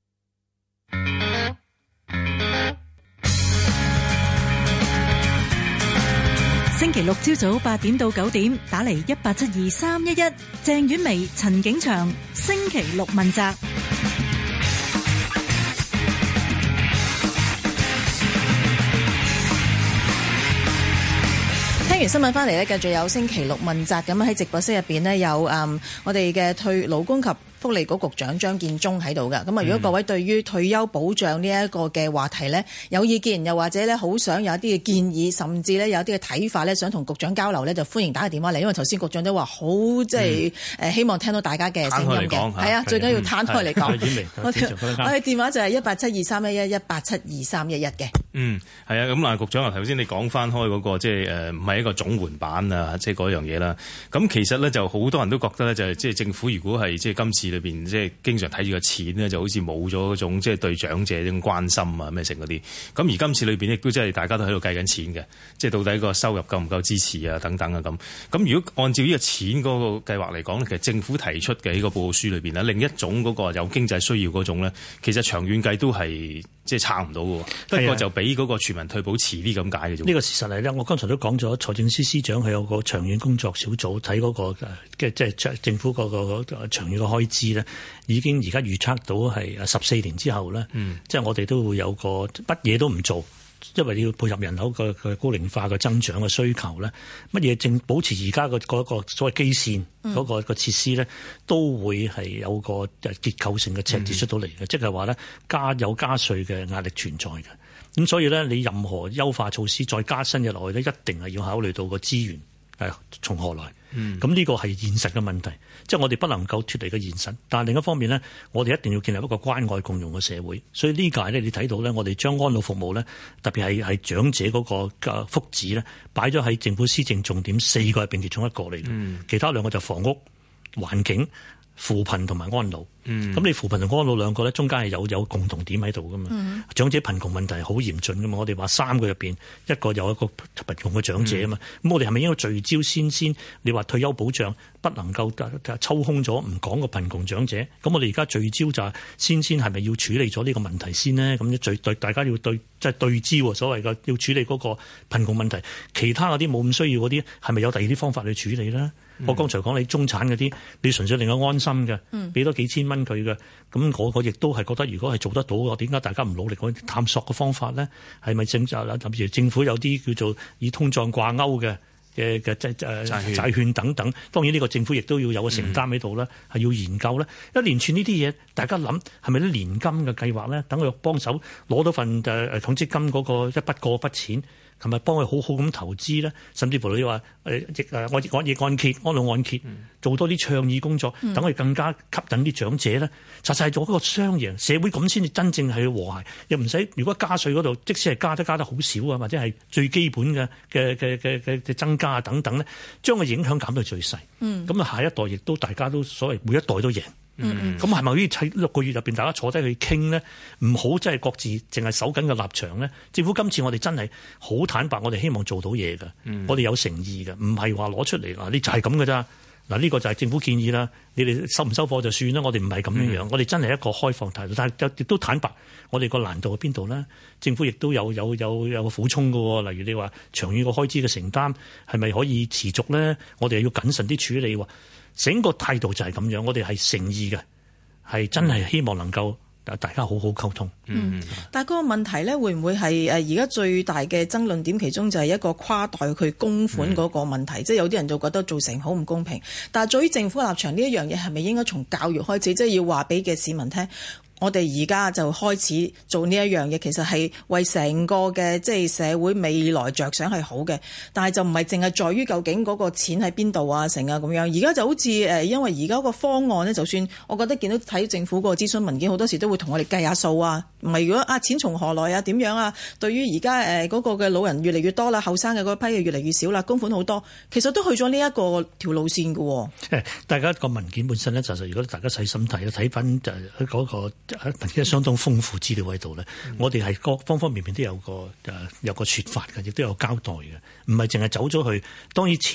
星期六朝早8點到9點，打嚟1872311，鄭婉薇、陳景祥，星期六問責。 聽完新聞翻嚟呢，繼續有星期六問責。咁喺直播室入邊呢，有我哋嘅勞工及福利局局長張建宗喺度噶。咁啊，如果各位對於退休保障呢一個嘅話題呢，有意見，又或者呢好想有一啲嘅建議，甚至呢有一啲嘅睇法呢，想同局長交流呢，就歡迎打個電話嚟。因為頭先局長都話好即係希望聽到大家嘅聲音嘅。係啊，最緊要攤開嚟講。我哋電話就係1872311 1872311嘅。 係啊。咁嗱，局長啊，頭先你講翻開嗰個即係唔係一個總援版啊，即係嗰樣嘢啦。咁其實咧就好多人都覺得咧，就係即係政府如果係即係今次裏邊即係經常睇住個錢咧，就好似冇咗嗰種即係對長者嗰種關心啊咩成嗰啲。咁而今次裏邊亦都即係大家都喺度計緊錢嘅，即係到底個收入夠唔夠支持啊等等啊咁。咁如果按照呢個錢嗰個計劃嚟講咧，其實政府提出嘅呢個報告書裏邊咧，另一種嗰個有經濟需要嗰種咧，其實長遠計都係即係差唔到嘅。不過就比嗰個全民退保遲啲咁解嘅啫。 呢個事實嚟咧，我剛才都講咗，財政司司長係有個長遠工作小組睇嗰個即係政府嗰個長遠嘅開支咧，已經而家預測到係14年之後咧，即係我哋都會有個乜嘢都唔做，因為你要配合人口嘅高齡化嘅增長嘅需求咧，乜嘢正保持而家嗰個所謂基線嗰個設施咧，都會係有個結構性嘅赤字出到嚟嘅，即係話咧加稅嘅壓力存在嘅。咁所以咧，你任何優化措施再加新嘅落去咧，一定係要考慮到個資源從何來。咁呢個係現實嘅問題，即係我哋不能夠脫離嘅現實。但係另一方面呢，我哋一定要建立一個關愛共融嘅社會。所以呢屆呢，你睇到呢，我哋將安老服務呢，特別係長者嗰個福祉呢，擺咗喺政府施政重點4個入邊其中一個嚟嘅。其他2個就房屋、環境、扶貧同埋安老。咁你扶貧同安老2個咧，中間係有共同點喺度噶嘛？長者貧窮問題係好嚴峻噶嘛？我哋話3個入邊1個有一個貧窮嘅長者啊嘛。咁我哋係咪應該聚焦先？你話退休保障不能夠抽空咗唔講個貧窮長者，咁我哋而家聚焦就係先係咪要處理咗呢個問題先呢？咁大家要對焦所謂嘅要處理嗰個貧窮問題，其他嗰啲冇咁需要嗰啲係咪有第二啲方法去處理呢？我剛才講你中產嗰啲，你純粹令佢安心嘅，俾多幾千蚊佢嘅，咁我亦都係覺得，如果係做得到嘅，點解大家唔努力去探索嘅方法咧？係咪例如政府有啲叫做以通脹掛鈎嘅債券等等？當然呢個政府亦都要有個承擔喺度啦，係要研究咧。一連串呢啲嘢，大家諗係咪啲年金嘅計劃咧？等佢幫手攞到份強積金嗰個一筆錢。係咪幫佢好好咁投資咧？甚至乎你話逆按揭、安老按揭，做多啲倡議工作，等佢更加吸引啲長者咧，實際做一個雙贏社會，咁先至真正係和諧。又唔使如果加稅嗰度，即使係加得好少啊，或者係最基本嘅增加啊等等咧，將個影響減到最細。咁啊，下一代亦都大家都所謂每一代都贏。咁係咪可以喺6個月入邊大家坐低去傾呢？唔好真係各自淨係守緊個立場呢。政府今次我哋真係好坦白，我哋希望做到嘢嘅，我哋有誠意嘅，唔係話攞出嚟嗱，你就係咁嘅咋嗱？呢個就係政府建議啦，你哋收唔收貨就算啦。我哋唔係咁樣樣，我哋真係一個開放態度，但係亦都坦白，我哋個難度喺邊度呢？政府亦都有個苦衷嘅，例如你話長遠個開支嘅承擔係咪可以持續呢？我哋要謹慎啲處理喎。整個態度就係咁樣，我哋係誠意嘅，係真係希望能夠大家好好溝通。 但係嗰個問題咧，會唔會係而家最大嘅爭論點？其中就係一個跨代佢供款嗰個問題，即係有啲人就覺得造成好唔公平。但係對於政府立場呢一樣嘢，係咪應該從教育開始，即係要話俾嘅市民聽？我哋而家就開始做呢一樣嘢，其實係為成個嘅即係社會未來着想係好嘅，但係就唔係淨係在於究竟嗰個錢喺邊度啊成啊咁樣。而家就好似因為而家個方案呢，就算我覺得見到睇政府個諮詢文件，好多時都會同我哋計下數啊。唔係如果錢從何來啊？點樣啊？對於而家嗰個嘅老人越嚟越多啦，後生嘅嗰批越嚟越少啦，供款好多，其實都去咗呢一個條路線嘅喎。 大家個文件本身呢，就係如果大家細心睇，睇翻就係嗰個文件相當豐富資料喺度咧。我哋係各方方面面都有個説法嘅，亦都有交代嘅，唔係淨係走咗去。當然錢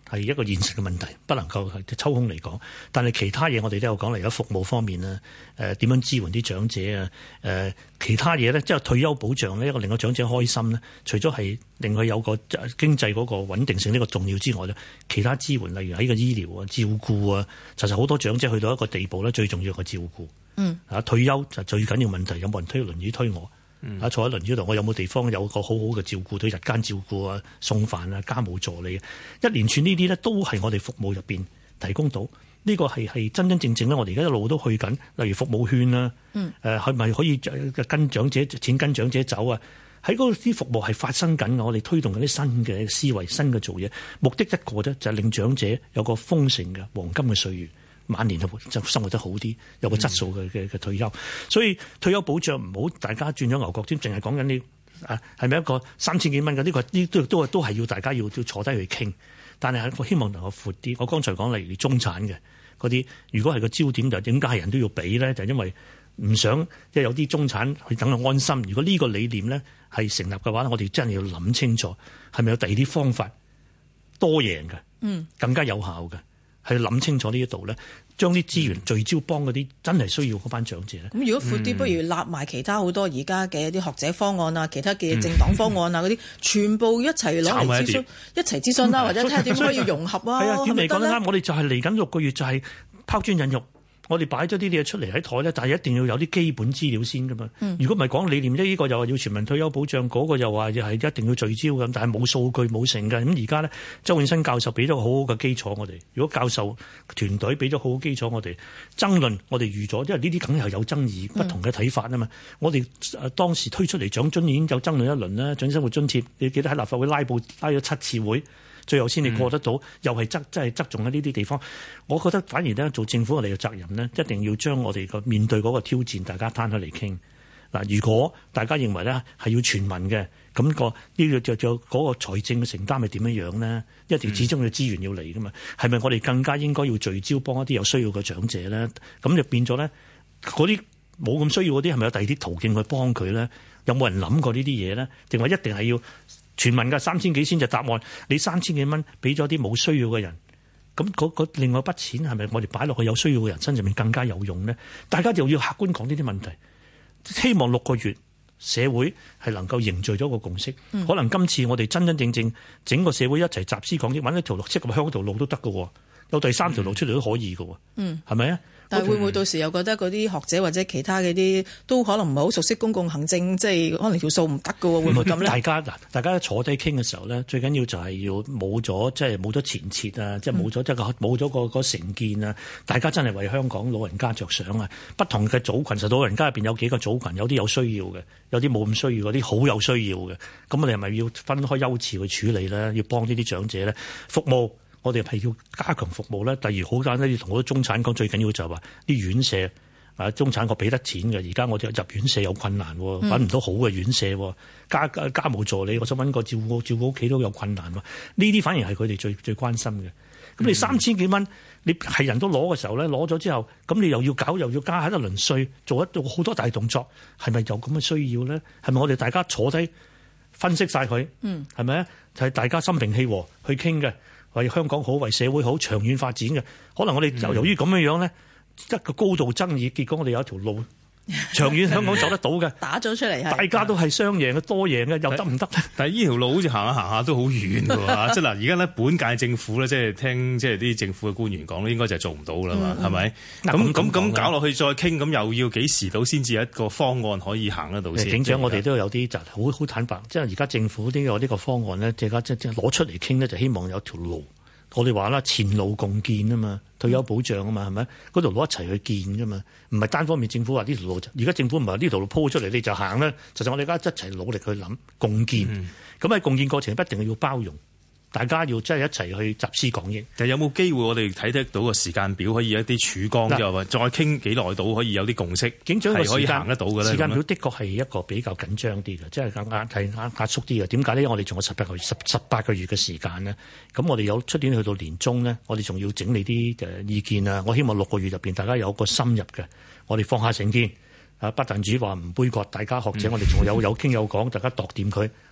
係一個現實嘅問題，不能夠抽空嚟講。但係其他嘢我哋都有講嚟，有服務方面啦，點樣支援啲長者啊，其他嘢咧，即係退休保障呢，一個令個長者開心咧，除咗係令佢有個經濟嗰個穩定性呢個重要之外咧，其他支援例如喺個醫療啊、照顧啊，其實好多長者去到一個地步咧，最重要係照顧。退休就最緊要問題，有冇人推輪椅推我？坐喺輪椅度，我有冇地方有個好好嘅照顧，對日間照顧啊、送飯啊、家務助理啊，一連串呢啲咧都係我哋服務入邊提供到。呢個係真真正正咧，我哋而家一路都去緊。例如服務券啦，係咪可以跟長者錢跟長者走啊？喺嗰啲服務係發生緊嘅，我哋推動緊啲新嘅思維、新嘅做嘢，目的一個啫，就係令長者有個豐盛嘅黃金嘅歲月。晚年就生活得好啲，有個質素嘅退休，所以退休保障唔好大家轉咗牛角尖，淨係講緊呢係咪一個3000幾蚊嘅呢個呢都係要大家要坐低去傾，但係我希望能夠闊啲。我剛才講例如中產嘅嗰啲，如果係個焦點就點解係人都要俾咧？就因為唔想即係有啲中產去等佢安心。如果呢個理念咧係成立嘅話，我哋真係要諗清楚係咪有第二啲方法多贏嘅，更加有效嘅。係諗清楚呢一度咧，將啲資源聚焦幫嗰啲真係需要嗰班長者咧。 咁如果闊啲，不如立埋其他好多而家嘅一啲學者方案啊，其他嘅政黨方案啊嗰啲，全部一齊攞嚟諮詢，一齊諮詢啦，或者睇下點可以融合啊。 係啊，點嚟講得啱？我哋就係嚟緊6個月就係拋磚引玉。我哋擺咗啲嘢出嚟喺台咧，但係一定要有啲基本資料先噶嘛。如果唔係講理念，呢個又話要全民退休保障，嗰個又話係一定要聚焦咁，但係冇數據冇成嘅。咁而家咧，周永新教授俾咗個好好嘅基礎我哋。如果教授團隊俾咗好好基礎我哋，爭論我哋預咗，因為呢啲梗係有爭議，不同嘅睇法啊嘛。我哋當時推出嚟長津已經有爭論一輪啦，長生活津貼，你記得喺立法會拉布拉咗7次會。最後先你過得到，又係真係側重喺呢啲地方。我覺得反而咧做政府我哋嘅責任咧，一定要將我哋個面對嗰個挑戰，大家攤開嚟傾。嗱，如果大家認為咧係要全民嘅，咁呢個就嗰個財政嘅承擔係點樣樣咧？一定始終嘅資源要嚟噶嘛？係咪我哋更加應該要聚焦幫一啲有需要嘅長者咧？咁就變咗咧，嗰啲冇咁需要嗰啲係咪有第二啲途徑去幫佢咧？有冇人諗過呢啲嘢咧？定話一定係要全民嘅3000幾先就答案？你3000幾蚊俾咗啲冇需要嘅人，咁嗰另外一筆錢係咪我哋擺落去有需要嘅人身上面更加有用呢？大家就要客觀講呢啲問題。希望6個月社會係能夠凝聚咗個共識。可能今次我哋真真正正整個社會一齊集思廣益，揾一條路，即係香港條路都得㗎喎，有第3條路出嚟都可以㗎喎。係咪啊？ 但係會唔會到時又覺得嗰啲學者或者其他嘅啲都可能唔係好熟悉公共行政，即係可能條數唔得㗎喎？會唔會咁咧？大家坐低傾嘅時候咧，最緊要就係要冇咗即係冇咗前設啊，即係冇咗即係冇咗個成見啊！大家真係為香港老人家着想啊！不同嘅組群，實到老人家入邊有幾個組群，有啲有需要嘅，有啲冇咁需要，嗰啲好有需要嘅。咁我哋係咪要分開優次去處理咧？要幫呢啲長者咧服務？我哋係要加強服務咧。例如好簡單，要同好多中產講，最緊要就係話啲院舍啊，中產我俾得錢嘅，而家我哋入院舍有困難，揾唔到好嘅院舍，家務助理，我想揾個照顧屋企都有困難。呢啲反而係佢哋最關心嘅。咁你3000幾蚊，你係人都攞嘅時候咧，攞咗之後，咁你又要搞又要加喺一輪稅，做好多大動作，係咪有咁嘅需要咧？係咪我哋大家坐低分析晒佢？係咪啊？係大家心平氣和去傾嘅。為香港好，為社會好，長遠發展嘅，可能我哋由於咁樣咧，一個高度爭議，結果我哋有一條路長遠香港走得到嘅， 打咗出嚟， 大家都係雙贏嘅，多贏嘅，又得唔得？ 但係呢條路好似行下行下都好遠㗎喎，即係嗱，而家咧本屆政府咧，即係聽即係啲政府嘅官員講咧，應該就係做唔到啦嘛，係咪？咁搞落去再傾，咁又要幾時到先至有一個方案可以行得到先？ 警長，我哋都有啲就好坦白，即係而家政府呢個方案咧，即係攞出嚟傾咧，就希望有條路。我哋話啦，前路共建啊嘛，退休保障啊嘛，係咪？嗰條路一齊去建㗎嘛，唔係單方面政府話呢條路。而家政府唔係呢條路鋪出嚟你就行啦，實際我哋而家一齊努力去諗共建。咁喺共建過程一定要包容，大家要真係一齊去集思廣益。 但係有冇機會我哋睇得到個時間表，可以有一啲曙光，又話再傾幾耐到可以有啲共識， 警長個可以行得到嘅咧？ 時間表的確係一個比較緊張啲嘅，即係壓縮啲嘅。點解呢？我哋仲有18個月嘅時間呢。咁我哋有出年去到年中呢，我哋仲要整理啲意見啊。我希望6個月入邊大家有個深入嘅，我哋放下成見啊，不但止話唔杯葛，大家學者我哋仲有傾有講，大家度掂佢，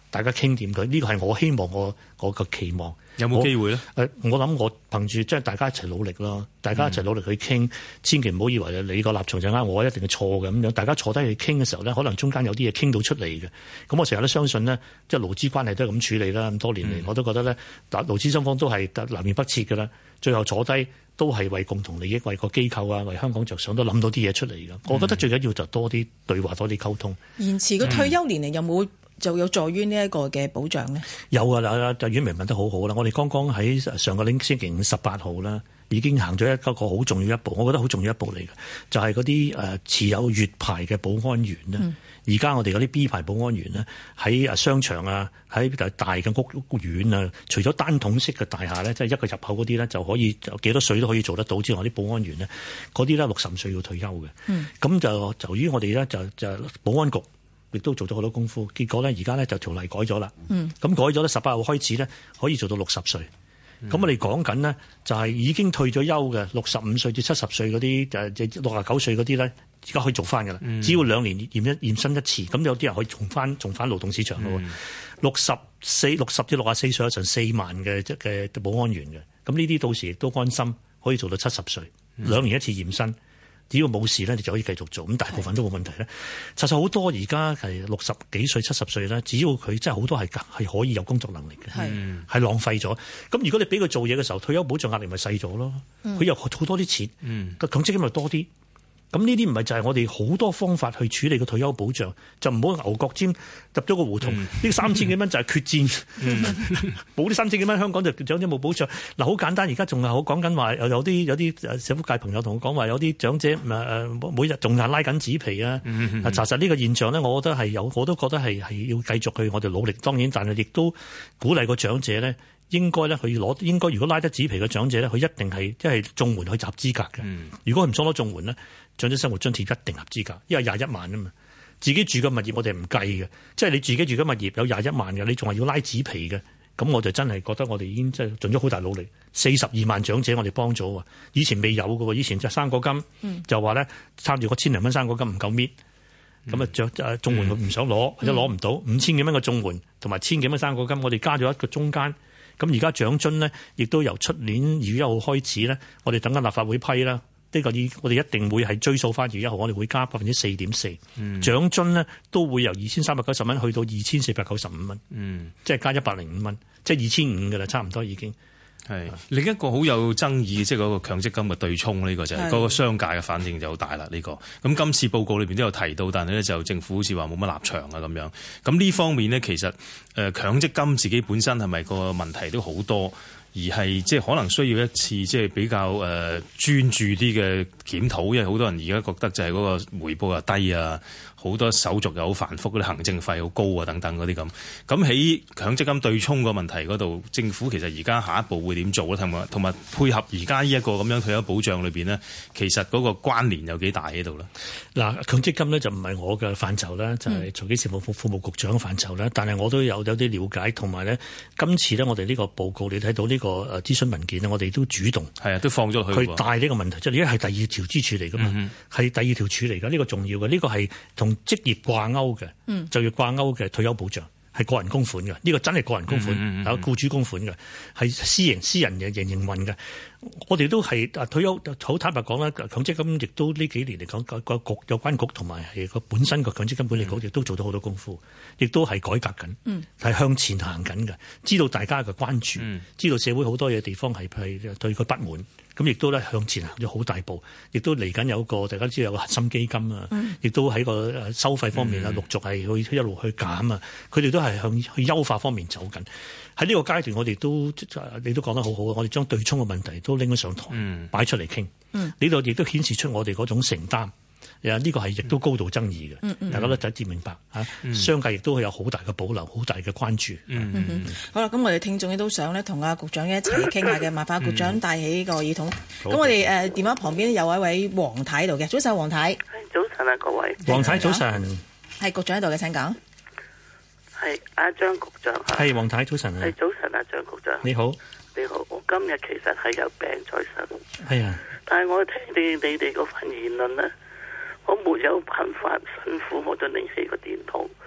大家傾掂佢，呢個係我希望我個期望。 有冇機會咧？ 我諗我憑住即係大家一齊努力咯，大家一齊努力去傾，千祈唔好以為你個立場就啱，我一定係錯嘅咁樣。大家坐低去傾嘅時候咧，可能中間有啲嘢傾到出嚟嘅。咁我成日都相信呢，即係勞資關係都係咁處理啦。咁多年嚟，我都覺得咧，勞資雙方都係南轅北轍㗎啦。最後坐低都係為共同利益，為個機構啊，為香港着想，都諗到啲嘢出嚟㗎。我覺得最緊要就多啲對話，多啲溝通。 延遲個退休年齡有冇就有助於呢一個嘅保障呢？ 有啊，嗱，就阮明問得好好啦。我哋剛剛喺上個星期5 18號啦，已經行咗一個好重要一步，我覺得好重要一步嚟嘅，就係嗰啲持有粵牌嘅保安員咧。而家我哋嗰啲 B 牌保安員咧，喺商場啊，喺大嘅屋苑啊，除咗單筒式嘅大廈咧，即係一個入口嗰啲咧，就可以幾多歲都可以做得到之外，啲保安員咧，嗰啲咧60歲要退休嘅。咁就於我哋咧就保安局亦都做咗好多功夫，結果咧而家咧就條例改咗啦。咁改咗咧18號開始咧可以做到60歲。咁我哋講緊呢，就係已經退咗休嘅65歲至70歲嗰啲69歲嗰啲咧，而家可以做翻㗎啦。只要2年驗身一次，咁有啲人可以重返勞動市場咯。60至64歲有成4萬嘅保安員嘅，咁呢啲到時亦都安心可以做到70歲，2年一次驗身。只要冇事咧，你就可以繼續做，咁大部分都冇問題咧。實在好多而家係60幾歲、70歲咧，只要佢真係好多係可以有工作能力嘅，係浪費咗。咁如果你俾佢做嘢嘅時候，退休保障壓力咪細咗咯？佢又好多啲錢，個強積金咪多啲。咁呢啲唔係就係我哋好多方法去處理個退休保障，就唔好牛角尖入咗個胡同。呢3000幾蚊就係決戰，冇呢3000幾蚊香港就長者冇保障。嗱，好簡單，而家仲係好講緊話，有啲社福界朋友同我講話，有啲長者每日仲係拉緊紙皮啊。查實呢個現象咧，我覺得係有，我都覺得係要繼續去我哋努力。當然，但係亦都鼓勵個長者咧。應該咧，佢應該如果拉得紙皮嘅長者咧，佢一定係即係綜援去集資格嘅。如果佢唔想攞綜援咧，長者生活津貼一定合資格，因為21萬啊嘛。自己住嘅物業我哋唔計嘅，即係你自己住嘅物業有21萬嘅，你仲係要拉紙皮嘅，咁我就真係覺得我哋已經即係盡咗好大努力。42萬長者我哋幫咗喎，以前未有嘅喎，以前就生果金就話咧參住個1000零蚊生果金唔夠搣，咁啊綜援佢唔想攞或者攞唔到5000幾蚊嘅綜援同埋1000幾蚊生果金，我哋加咗一個中間。咁而家長津呢，亦都由出年2月1號開始呢，我哋等緊立法會批啦。呢個我哋一定會係追溯翻2月1號，我哋會加4.4%。長津呢都會由2390蚊去到2495蚊。即係加105蚊，即係2500㗎啦，差唔多已經。 係另一個好有爭議，即係嗰個強積金嘅對沖呢個就係嗰個商界嘅反應就好大啦。呢個咁今次報告裏邊都有提到，但係咧就政府好似話冇乜立場啊咁樣。咁呢方面呢，其實強積金自己本身係咪個問題都好多，而係即係可能需要一次即係比較專注啲嘅檢討，因為好多人而家覺得就係嗰個回報又低啊。好多手續又好繁複，嗰啲行政費好高啊，等等嗰啲咁。咁喺強積金對沖個問題嗰度，政府其實而家下一步會點做咧？同埋配合而家呢一個咁樣退休保障裏邊呢，其實嗰個關聯有幾大喺度咧？嗱，強積金呢就唔係我嘅範疇啦，就係財經事務副務局長嘅範疇啦。但係我都有啲了解，同埋呢今次呢，我哋呢個報告你睇到呢個諮詢文件呢，我哋都主動係啊，都放咗去帶呢個問題，即係而家係第2條支柱嚟噶嘛，係第2條柱嚟噶，呢個重要嘅，呢個係同職業掛鈎嘅，就要掛鈎嘅退休保障係個人供款嘅，呢個真係個人供款，有僱主供款嘅，係私人嘅營運嘅。我哋都係退休好坦白講啦，強積金亦都呢幾年嚟講個局有關局同埋係個本身個強積金管理局亦都做咗好多功夫，亦都係改革緊，係向前行緊嘅。知道大家嘅關注，知道社會好多嘢地方係對佢不滿。咁亦都咧向前行咗好大步，亦都嚟緊有個大家知道有個核心基金啊，亦都喺個收費方面啊，陸續係去一路去減啊，佢哋都係向去優化方面走緊。喺呢個階段，我哋都你都講得好好，我哋將對沖嘅問題都拎咗上台，擺出嚟傾。呢度亦都顯示出我哋嗰種承擔。呢個係亦都高度爭議嘅，大家都一致明白嚇。商界亦都有好大嘅保留，好大嘅關注。 好啦，咁我哋聽眾亦都想咧同阿局長一齊傾下嘅，麻煩局長帶起個耳筒。咁我哋電話旁邊有一位黃太喺度嘅，早晨黃太。 早晨啊，各位。 黃太早晨。 係局長喺度嘅，請講。 係阿張局長。 係黃太早晨。 係早晨啊，張局長。 你好。 你好，我今日其實係有病在身。 係啊。 但係我聽你哋嗰份言論咧。我沒有辦法辛苦，我就拎起個電筒，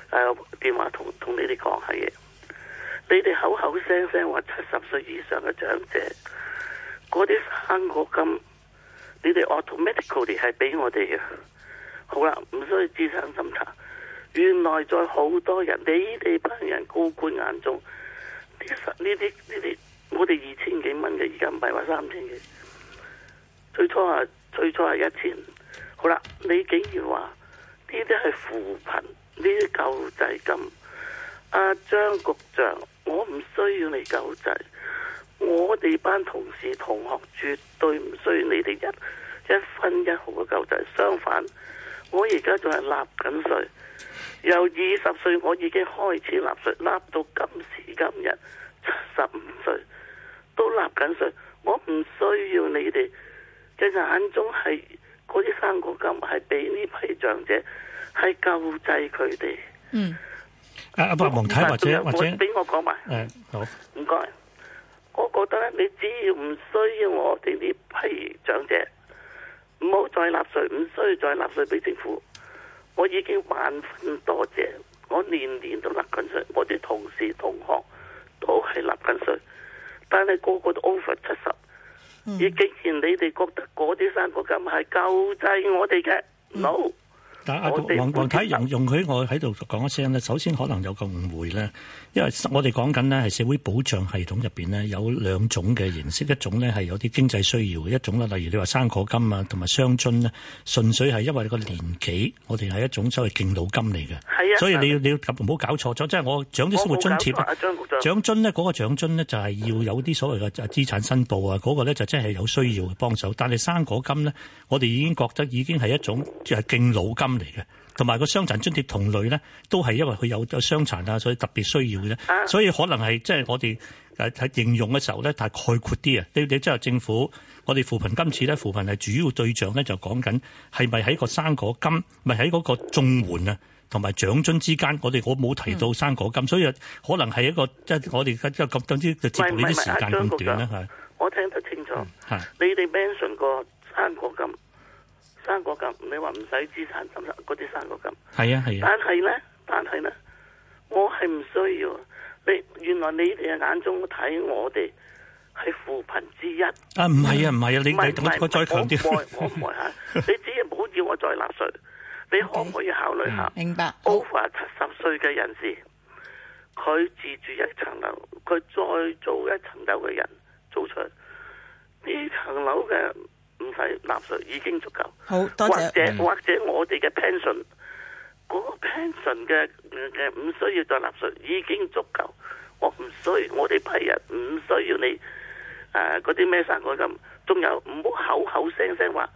電話同你哋講下嘢。你哋口口聲聲話70歲以上嘅長者，嗰啲生果金，你哋 automatically 係俾我哋嘅。好啦，唔需要資產審查。原來在好多人，你哋班人高官眼中，呢啲，我哋2000幾蚊嘅，而家唔係話3000幾。最初係1000。好啦，你竟然話呢啲係扶貧，呢啲救濟金。阿張局長，我唔需要你救濟，我哋班同事同學絕對唔需要你哋一分一毫嘅救濟。相反，我而家仲係納緊稅，由20歲我已經開始納稅，納到今時今日75歲都納緊稅。我唔需要你哋嘅眼中係嗰啲生果金係俾呢批長者係救濟佢哋。 黃太或者俾我講埋。 好， 唔該。我覺得你只要唔需要我哋呢批長者，唔好再納稅，唔需要再納稅俾政府。我已經萬分多謝，我年年都納緊稅，我啲同事同學都係納緊稅，但係個個都 over 70。而既然你哋覺得嗰啲生果金係救濟我哋嘅，no。 但黃太容許我喺度講一聲咧，首先可能有個誤會咧，因為我哋講緊咧係社會保障系統入邊咧有2種嘅形式，一種咧係有啲經濟需要嘅，一種咧例如你話生果金啊同埋雙津咧，純粹係因為個年紀，我哋係一種所謂敬老金嚟嘅。係啊，所以你要唔好搞錯咗，即係我長者生活津貼獎津咧嗰個獎津咧就係要有啲所謂嘅資產申報啊，嗰個咧就真係有需要嘅幫手。但係生果金咧，我哋已經覺得已經係一種即係敬老金嚟嘅，同埋個傷殘津貼同類咧，都係因為佢有傷殘啊，所以特別需要嘅啫。所以可能係即係我哋喺形容嘅時候咧，太概括啲啊！你即係政府，我哋扶貧今次咧，扶貧係主要對象咧，就講緊係咪喺個生果金，咪喺嗰個綜援啊，同埋獎津之間，我冇提到生果金，所以可能係一個即係我哋即係咁總之就接呢啲時間咁短咧，係。我聽得清楚，你哋 mention 過生果金。生果金，你話唔使資產審查嗰啲生果金，係啊。但係咧，我係唔需要。原來你哋嘅眼中睇我哋係扶貧之一。唔係啊，你我再強調，我唔係嚇。你只係唔好要我再納稅，你可唔可以考慮下？明白。over 70歲嘅人士，佢自住一層樓，佢再做一層樓嘅人租出呢層樓嘅。唔使納稅已經足夠，好多謝。或者我哋嘅 pension 嗰個 pension 嘅唔需要再納稅已經足夠。我唔需要，我哋批人唔需要你嗰啲咩生果金。仲有唔好口口聲聲話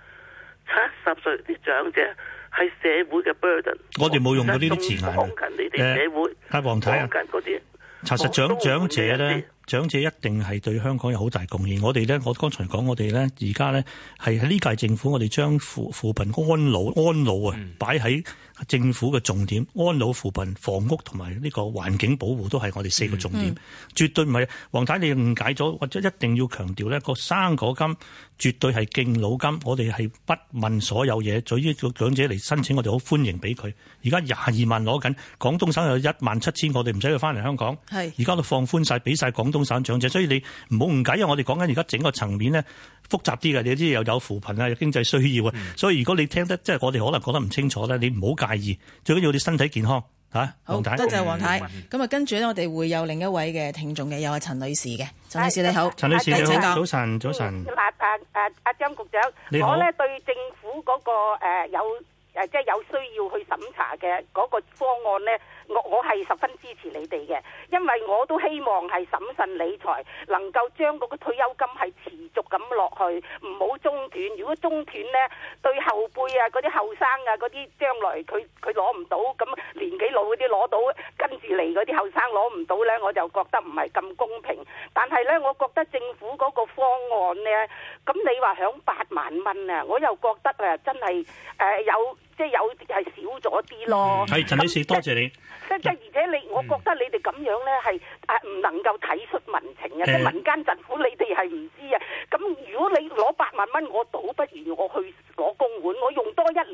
70歲啲長者係社會嘅 burden。我哋冇用過呢啲字眼。講緊你哋社會。阿黃太啊，講緊嗰啲。查實長者咧。長者一定係對香港有好大貢獻。我哋咧，我剛才講，我哋咧而家咧係喺呢屆政府，我哋將扶貧安老啊擺喺政府嘅重點。安老扶貧、房屋同埋呢個環境保護都係我哋4個重點。絕對唔係黃太你誤解咗，或者一定要強調呢個生果金絕對係敬老金。我哋係不問所有嘢，對於個長者嚟申請，我哋好歡迎俾佢。而家22萬攞緊，廣東省有17000，我哋唔使佢翻嚟香港。係而家都放寬晒，俾晒廣東省長者，所以你唔好誤解，因為我哋講緊而家整個層面咧複雜啲嘅，你知又有扶貧啊，有經濟需要啊，所以如果你聽得即係我哋可能講得唔清楚咧，你唔好介意，最緊要你身體健康嚇。好，多謝黃太。咁啊，跟住咧，我哋會有另一位嘅聽眾嘅，有陳女士嘅。陳女士你好，陳女士你好，早晨。 阿張局長，我咧對政府嗰個即係有需要去審查嘅嗰個方案咧。我係十分支持你哋嘅，因為我都希望係審慎理財，能夠將嗰個退休金係持續咁落去，唔好中斷。如果中斷呢，對後輩啊、嗰啲後生啊、嗰啲將來佢攞唔到，咁年紀老嗰啲攞到，跟住嚟嗰啲後生攞唔到呢，我就覺得唔係咁公平。但係呢，我覺得政府嗰個方案呢，咁你話響8萬蚊啊，我又覺得啊，真係有係少咗啲咯。係陳女士，多謝你。而且我覺得你哋咁樣咧係唔能夠體恤民情啊！即係民間疾苦，你哋係唔知啊。咁如果你攞8萬蚊，我倒不如我去攞公款，我用多1年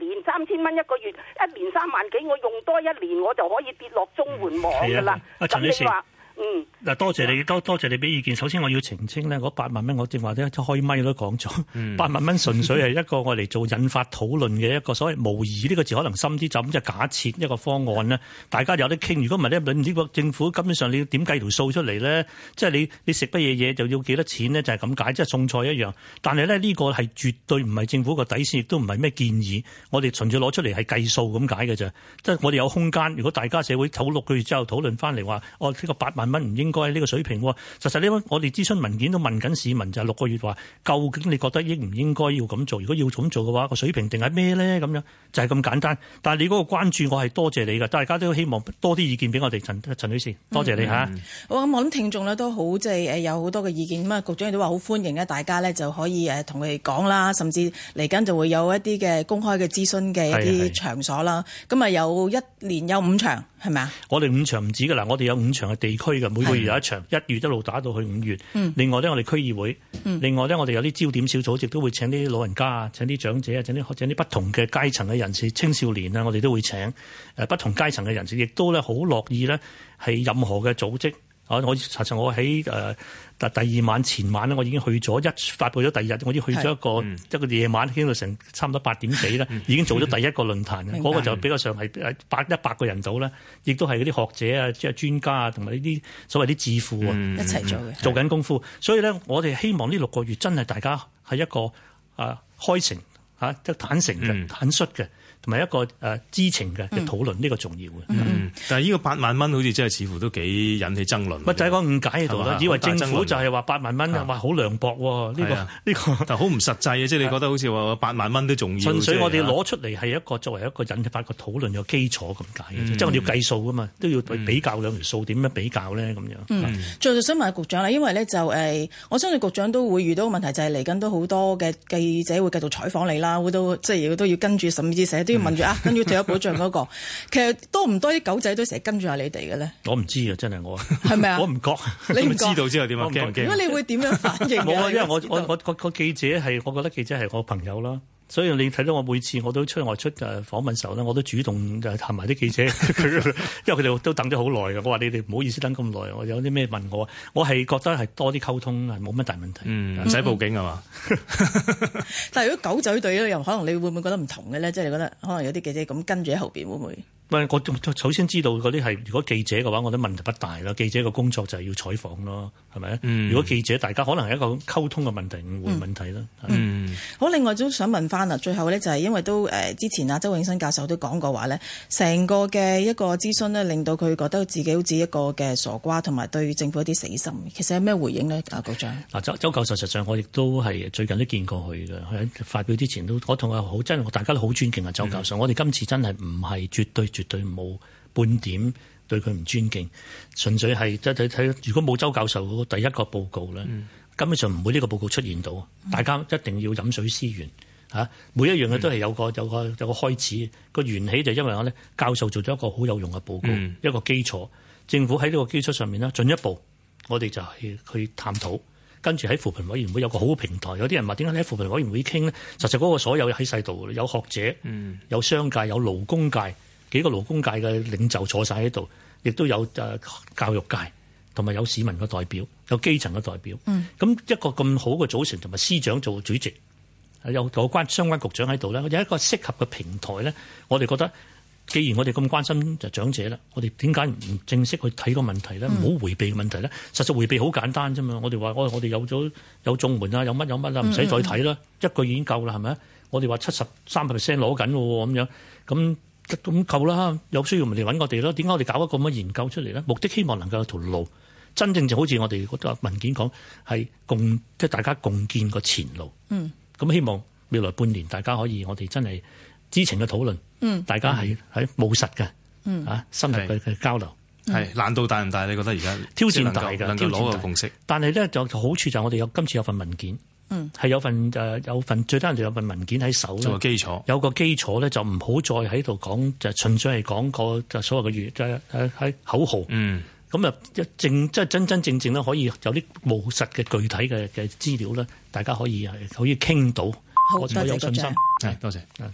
年3000蚊一個月，一年3萬幾，我用多1年我就可以跌落綜援網㗎啦。咁你話？ 嗱，多謝你，多謝你俾意見。首先我要澄清咧，嗰8萬蚊我正話咧開咪都講咗，8萬蚊純粹係一個我嚟做引發討論嘅一個所謂模擬呢個字可能深啲，就咁即係假設一個方案咧，大家有得傾。如果唔係咧，呢個政府根本上你要點計條數出嚟咧？即係你食乜嘢就要幾多錢咧？就係咁解，即係餸菜一樣。但係咧呢個係絕對唔係政府個底線，亦都唔係咩建議。我哋純粹攞出嚟係計數咁解嘅啫。即係我哋有空間。如果大家社會討6個月之後討論翻嚟話，呢個8萬蚊唔應該喺呢個水平。實際呢，我哋諮詢文件都問緊市民，就係6個月話，究竟你覺得應唔應該要咁做？如果要咁做嘅話，個水平定係咩咧？咁樣就係咁簡單。但係你嗰個關注，我係多謝你㗎。大家都希望多啲意見俾我哋，陳女士，多謝你嚇。 好，咁我諗聽眾咧都好即係有好多嘅意見。咁啊，局長亦都話好歡迎咧，大家咧就可以同佢哋講啦，甚至嚟緊就會有一啲嘅公開嘅諮詢嘅一啲場所啦。咁啊，有1年有5場。係咪啊？我哋5場唔止㗎啦，我哋有5場嘅地區嘅，每個月有一場，1月一路打到去5月。另外咧，我哋區議會，另外咧，我哋有啲焦點小組，亦都會請啲老人家啊，請啲長者啊，請啲不同嘅階層嘅人士、青少年啊，我哋都會請不同階層嘅人士，亦都咧好樂意咧係任何嘅組織。我喺第2晚前晚咧，我已經去咗發佈咗第2日，我已經去咗一個夜晚，傾到成差唔多8點幾啦，已經做咗第1個論壇嘅，嗰個就比較上係100個人到啦，亦都係嗰啲學者啊、即係專家啊，同埋呢啲所謂啲智庫啊一齊做嘅， 做緊功夫。所以咧，我哋希望呢6個月真係大家係一個開誠即係坦誠嘅、坦率嘅。同埋一個知情嘅討論，呢個重要嘅。 但係呢個8萬蚊好似真係似乎都幾引起爭論。 就係個誤解喺度啦，以為政府就係話8萬蚊，話好涼薄喎。呢個但係好唔實際嘅，即係你覺得好似話8萬蚊都重要。 純粹我哋攞出嚟係一個作為一個引發個討論嘅基礎咁解嘅，即係我哋要計數噶嘛，都要比較兩條數，點樣比較咧咁樣。 最後想問下局長啦，因為咧就我相信局長都會遇到個問題，就係嚟緊都好多嘅記者會繼續採訪你啦，即係都要跟住，甚至成日都要問住跟住退休保障嗰個，其實多唔多啲狗仔都成日跟住下你哋嘅咧？我唔知啊，真係我係咪啊？我唔覺， 你唔知道之後點啊？驚唔驚？ 如果你會點樣反應？ 冇啊，因為我個記者係，我覺得記者係我朋友啦。所以你睇到我每次我都外出訪問時候咧，我都主動探埋啲記者，因為佢哋都等咗好耐嘅。我話你哋唔好意思等咁耐，我有啲咩問我係覺得係多啲溝通係冇乜大問題， 唔使報警係嘛？ 但係如果狗仔隊咧，又可能你會唔會覺得唔同嘅咧？即係你覺得可能有啲記者咁跟住喺後邊會唔會？ 我首先知道嗰啲係如果記者嘅話，我覺得問題不大啦。記者嘅工作就係要採訪咯，係咪？如果記者大家可能係一個溝通嘅問題、誤會問題啦。 好，另外都想問翻啦，最後咧就係因為都之前啊周永新教授都講過話咧，成個嘅一個諮詢咧，令到佢覺得自己好似一個嘅傻瓜，同埋對政府一啲死心。其實有咩回應呢？局長？ 周教授實際上我亦都係最近都見過佢嘅，喺發表之前都我同佢真係大家都好尊敬啊周教授。我哋今次真係唔係絕對冇半點對佢唔尊敬，純粹係即係睇如果冇周教授嗰個第一個報告咧，根本上唔會呢個報告出現到。大家一定要飲水思源嚇，每一樣嘢都係有個開始，個緣起就因為我咧教授做咗一個好有用嘅報告，一個基礎。政府喺呢個基礎上面咧進一步，我哋就係去探討。跟住喺扶貧委員會有個好平台，有啲人話點解你喺扶貧委員會傾呢？實際嗰個所有喺晒度，有學者、有商界、有勞工界。幾個勞工界嘅領袖坐晒喺度，亦都有教育界，同埋有市民嘅代表，有基層嘅代表。咁一個咁好嘅組成，同埋司長做主席，有相關局長喺度咧，有一個適合嘅平台咧。我哋覺得，既然我哋咁關心就長者啦，我哋點解唔正式去睇個問題咧？唔好迴避嘅問題咧。實際迴避好簡單啫嘛。我哋話我哋有綜援啊，有乜啊，唔使再睇啦，一個已經夠啦，係咪？我哋話73% 攞緊喎，咁樣咁夠啦，有需要咪嚟揾我哋咯？點解我哋搞一個咁嘅研究出嚟咧？目的希望能夠有條路，真正就好似我哋嗰個文件講，係即係大家共建個前路。咁希望未來半年大家可以我哋真係知情嘅討論，大家係務實嘅，深入嘅交流。 係難度大唔大？你覺得而家挑戰大嘅， 能夠攞個共識。 但係咧就好處就係我哋今次有份文件。係有份最低限度有份文件喺手做個基礎， 有個基礎咧就唔好再喺度講，就純粹係講個就所謂嘅喺口號。咁啊即係真正咧可以有啲務實嘅具體嘅資料咧，大家可以傾到。 好，多謝局長。 多謝。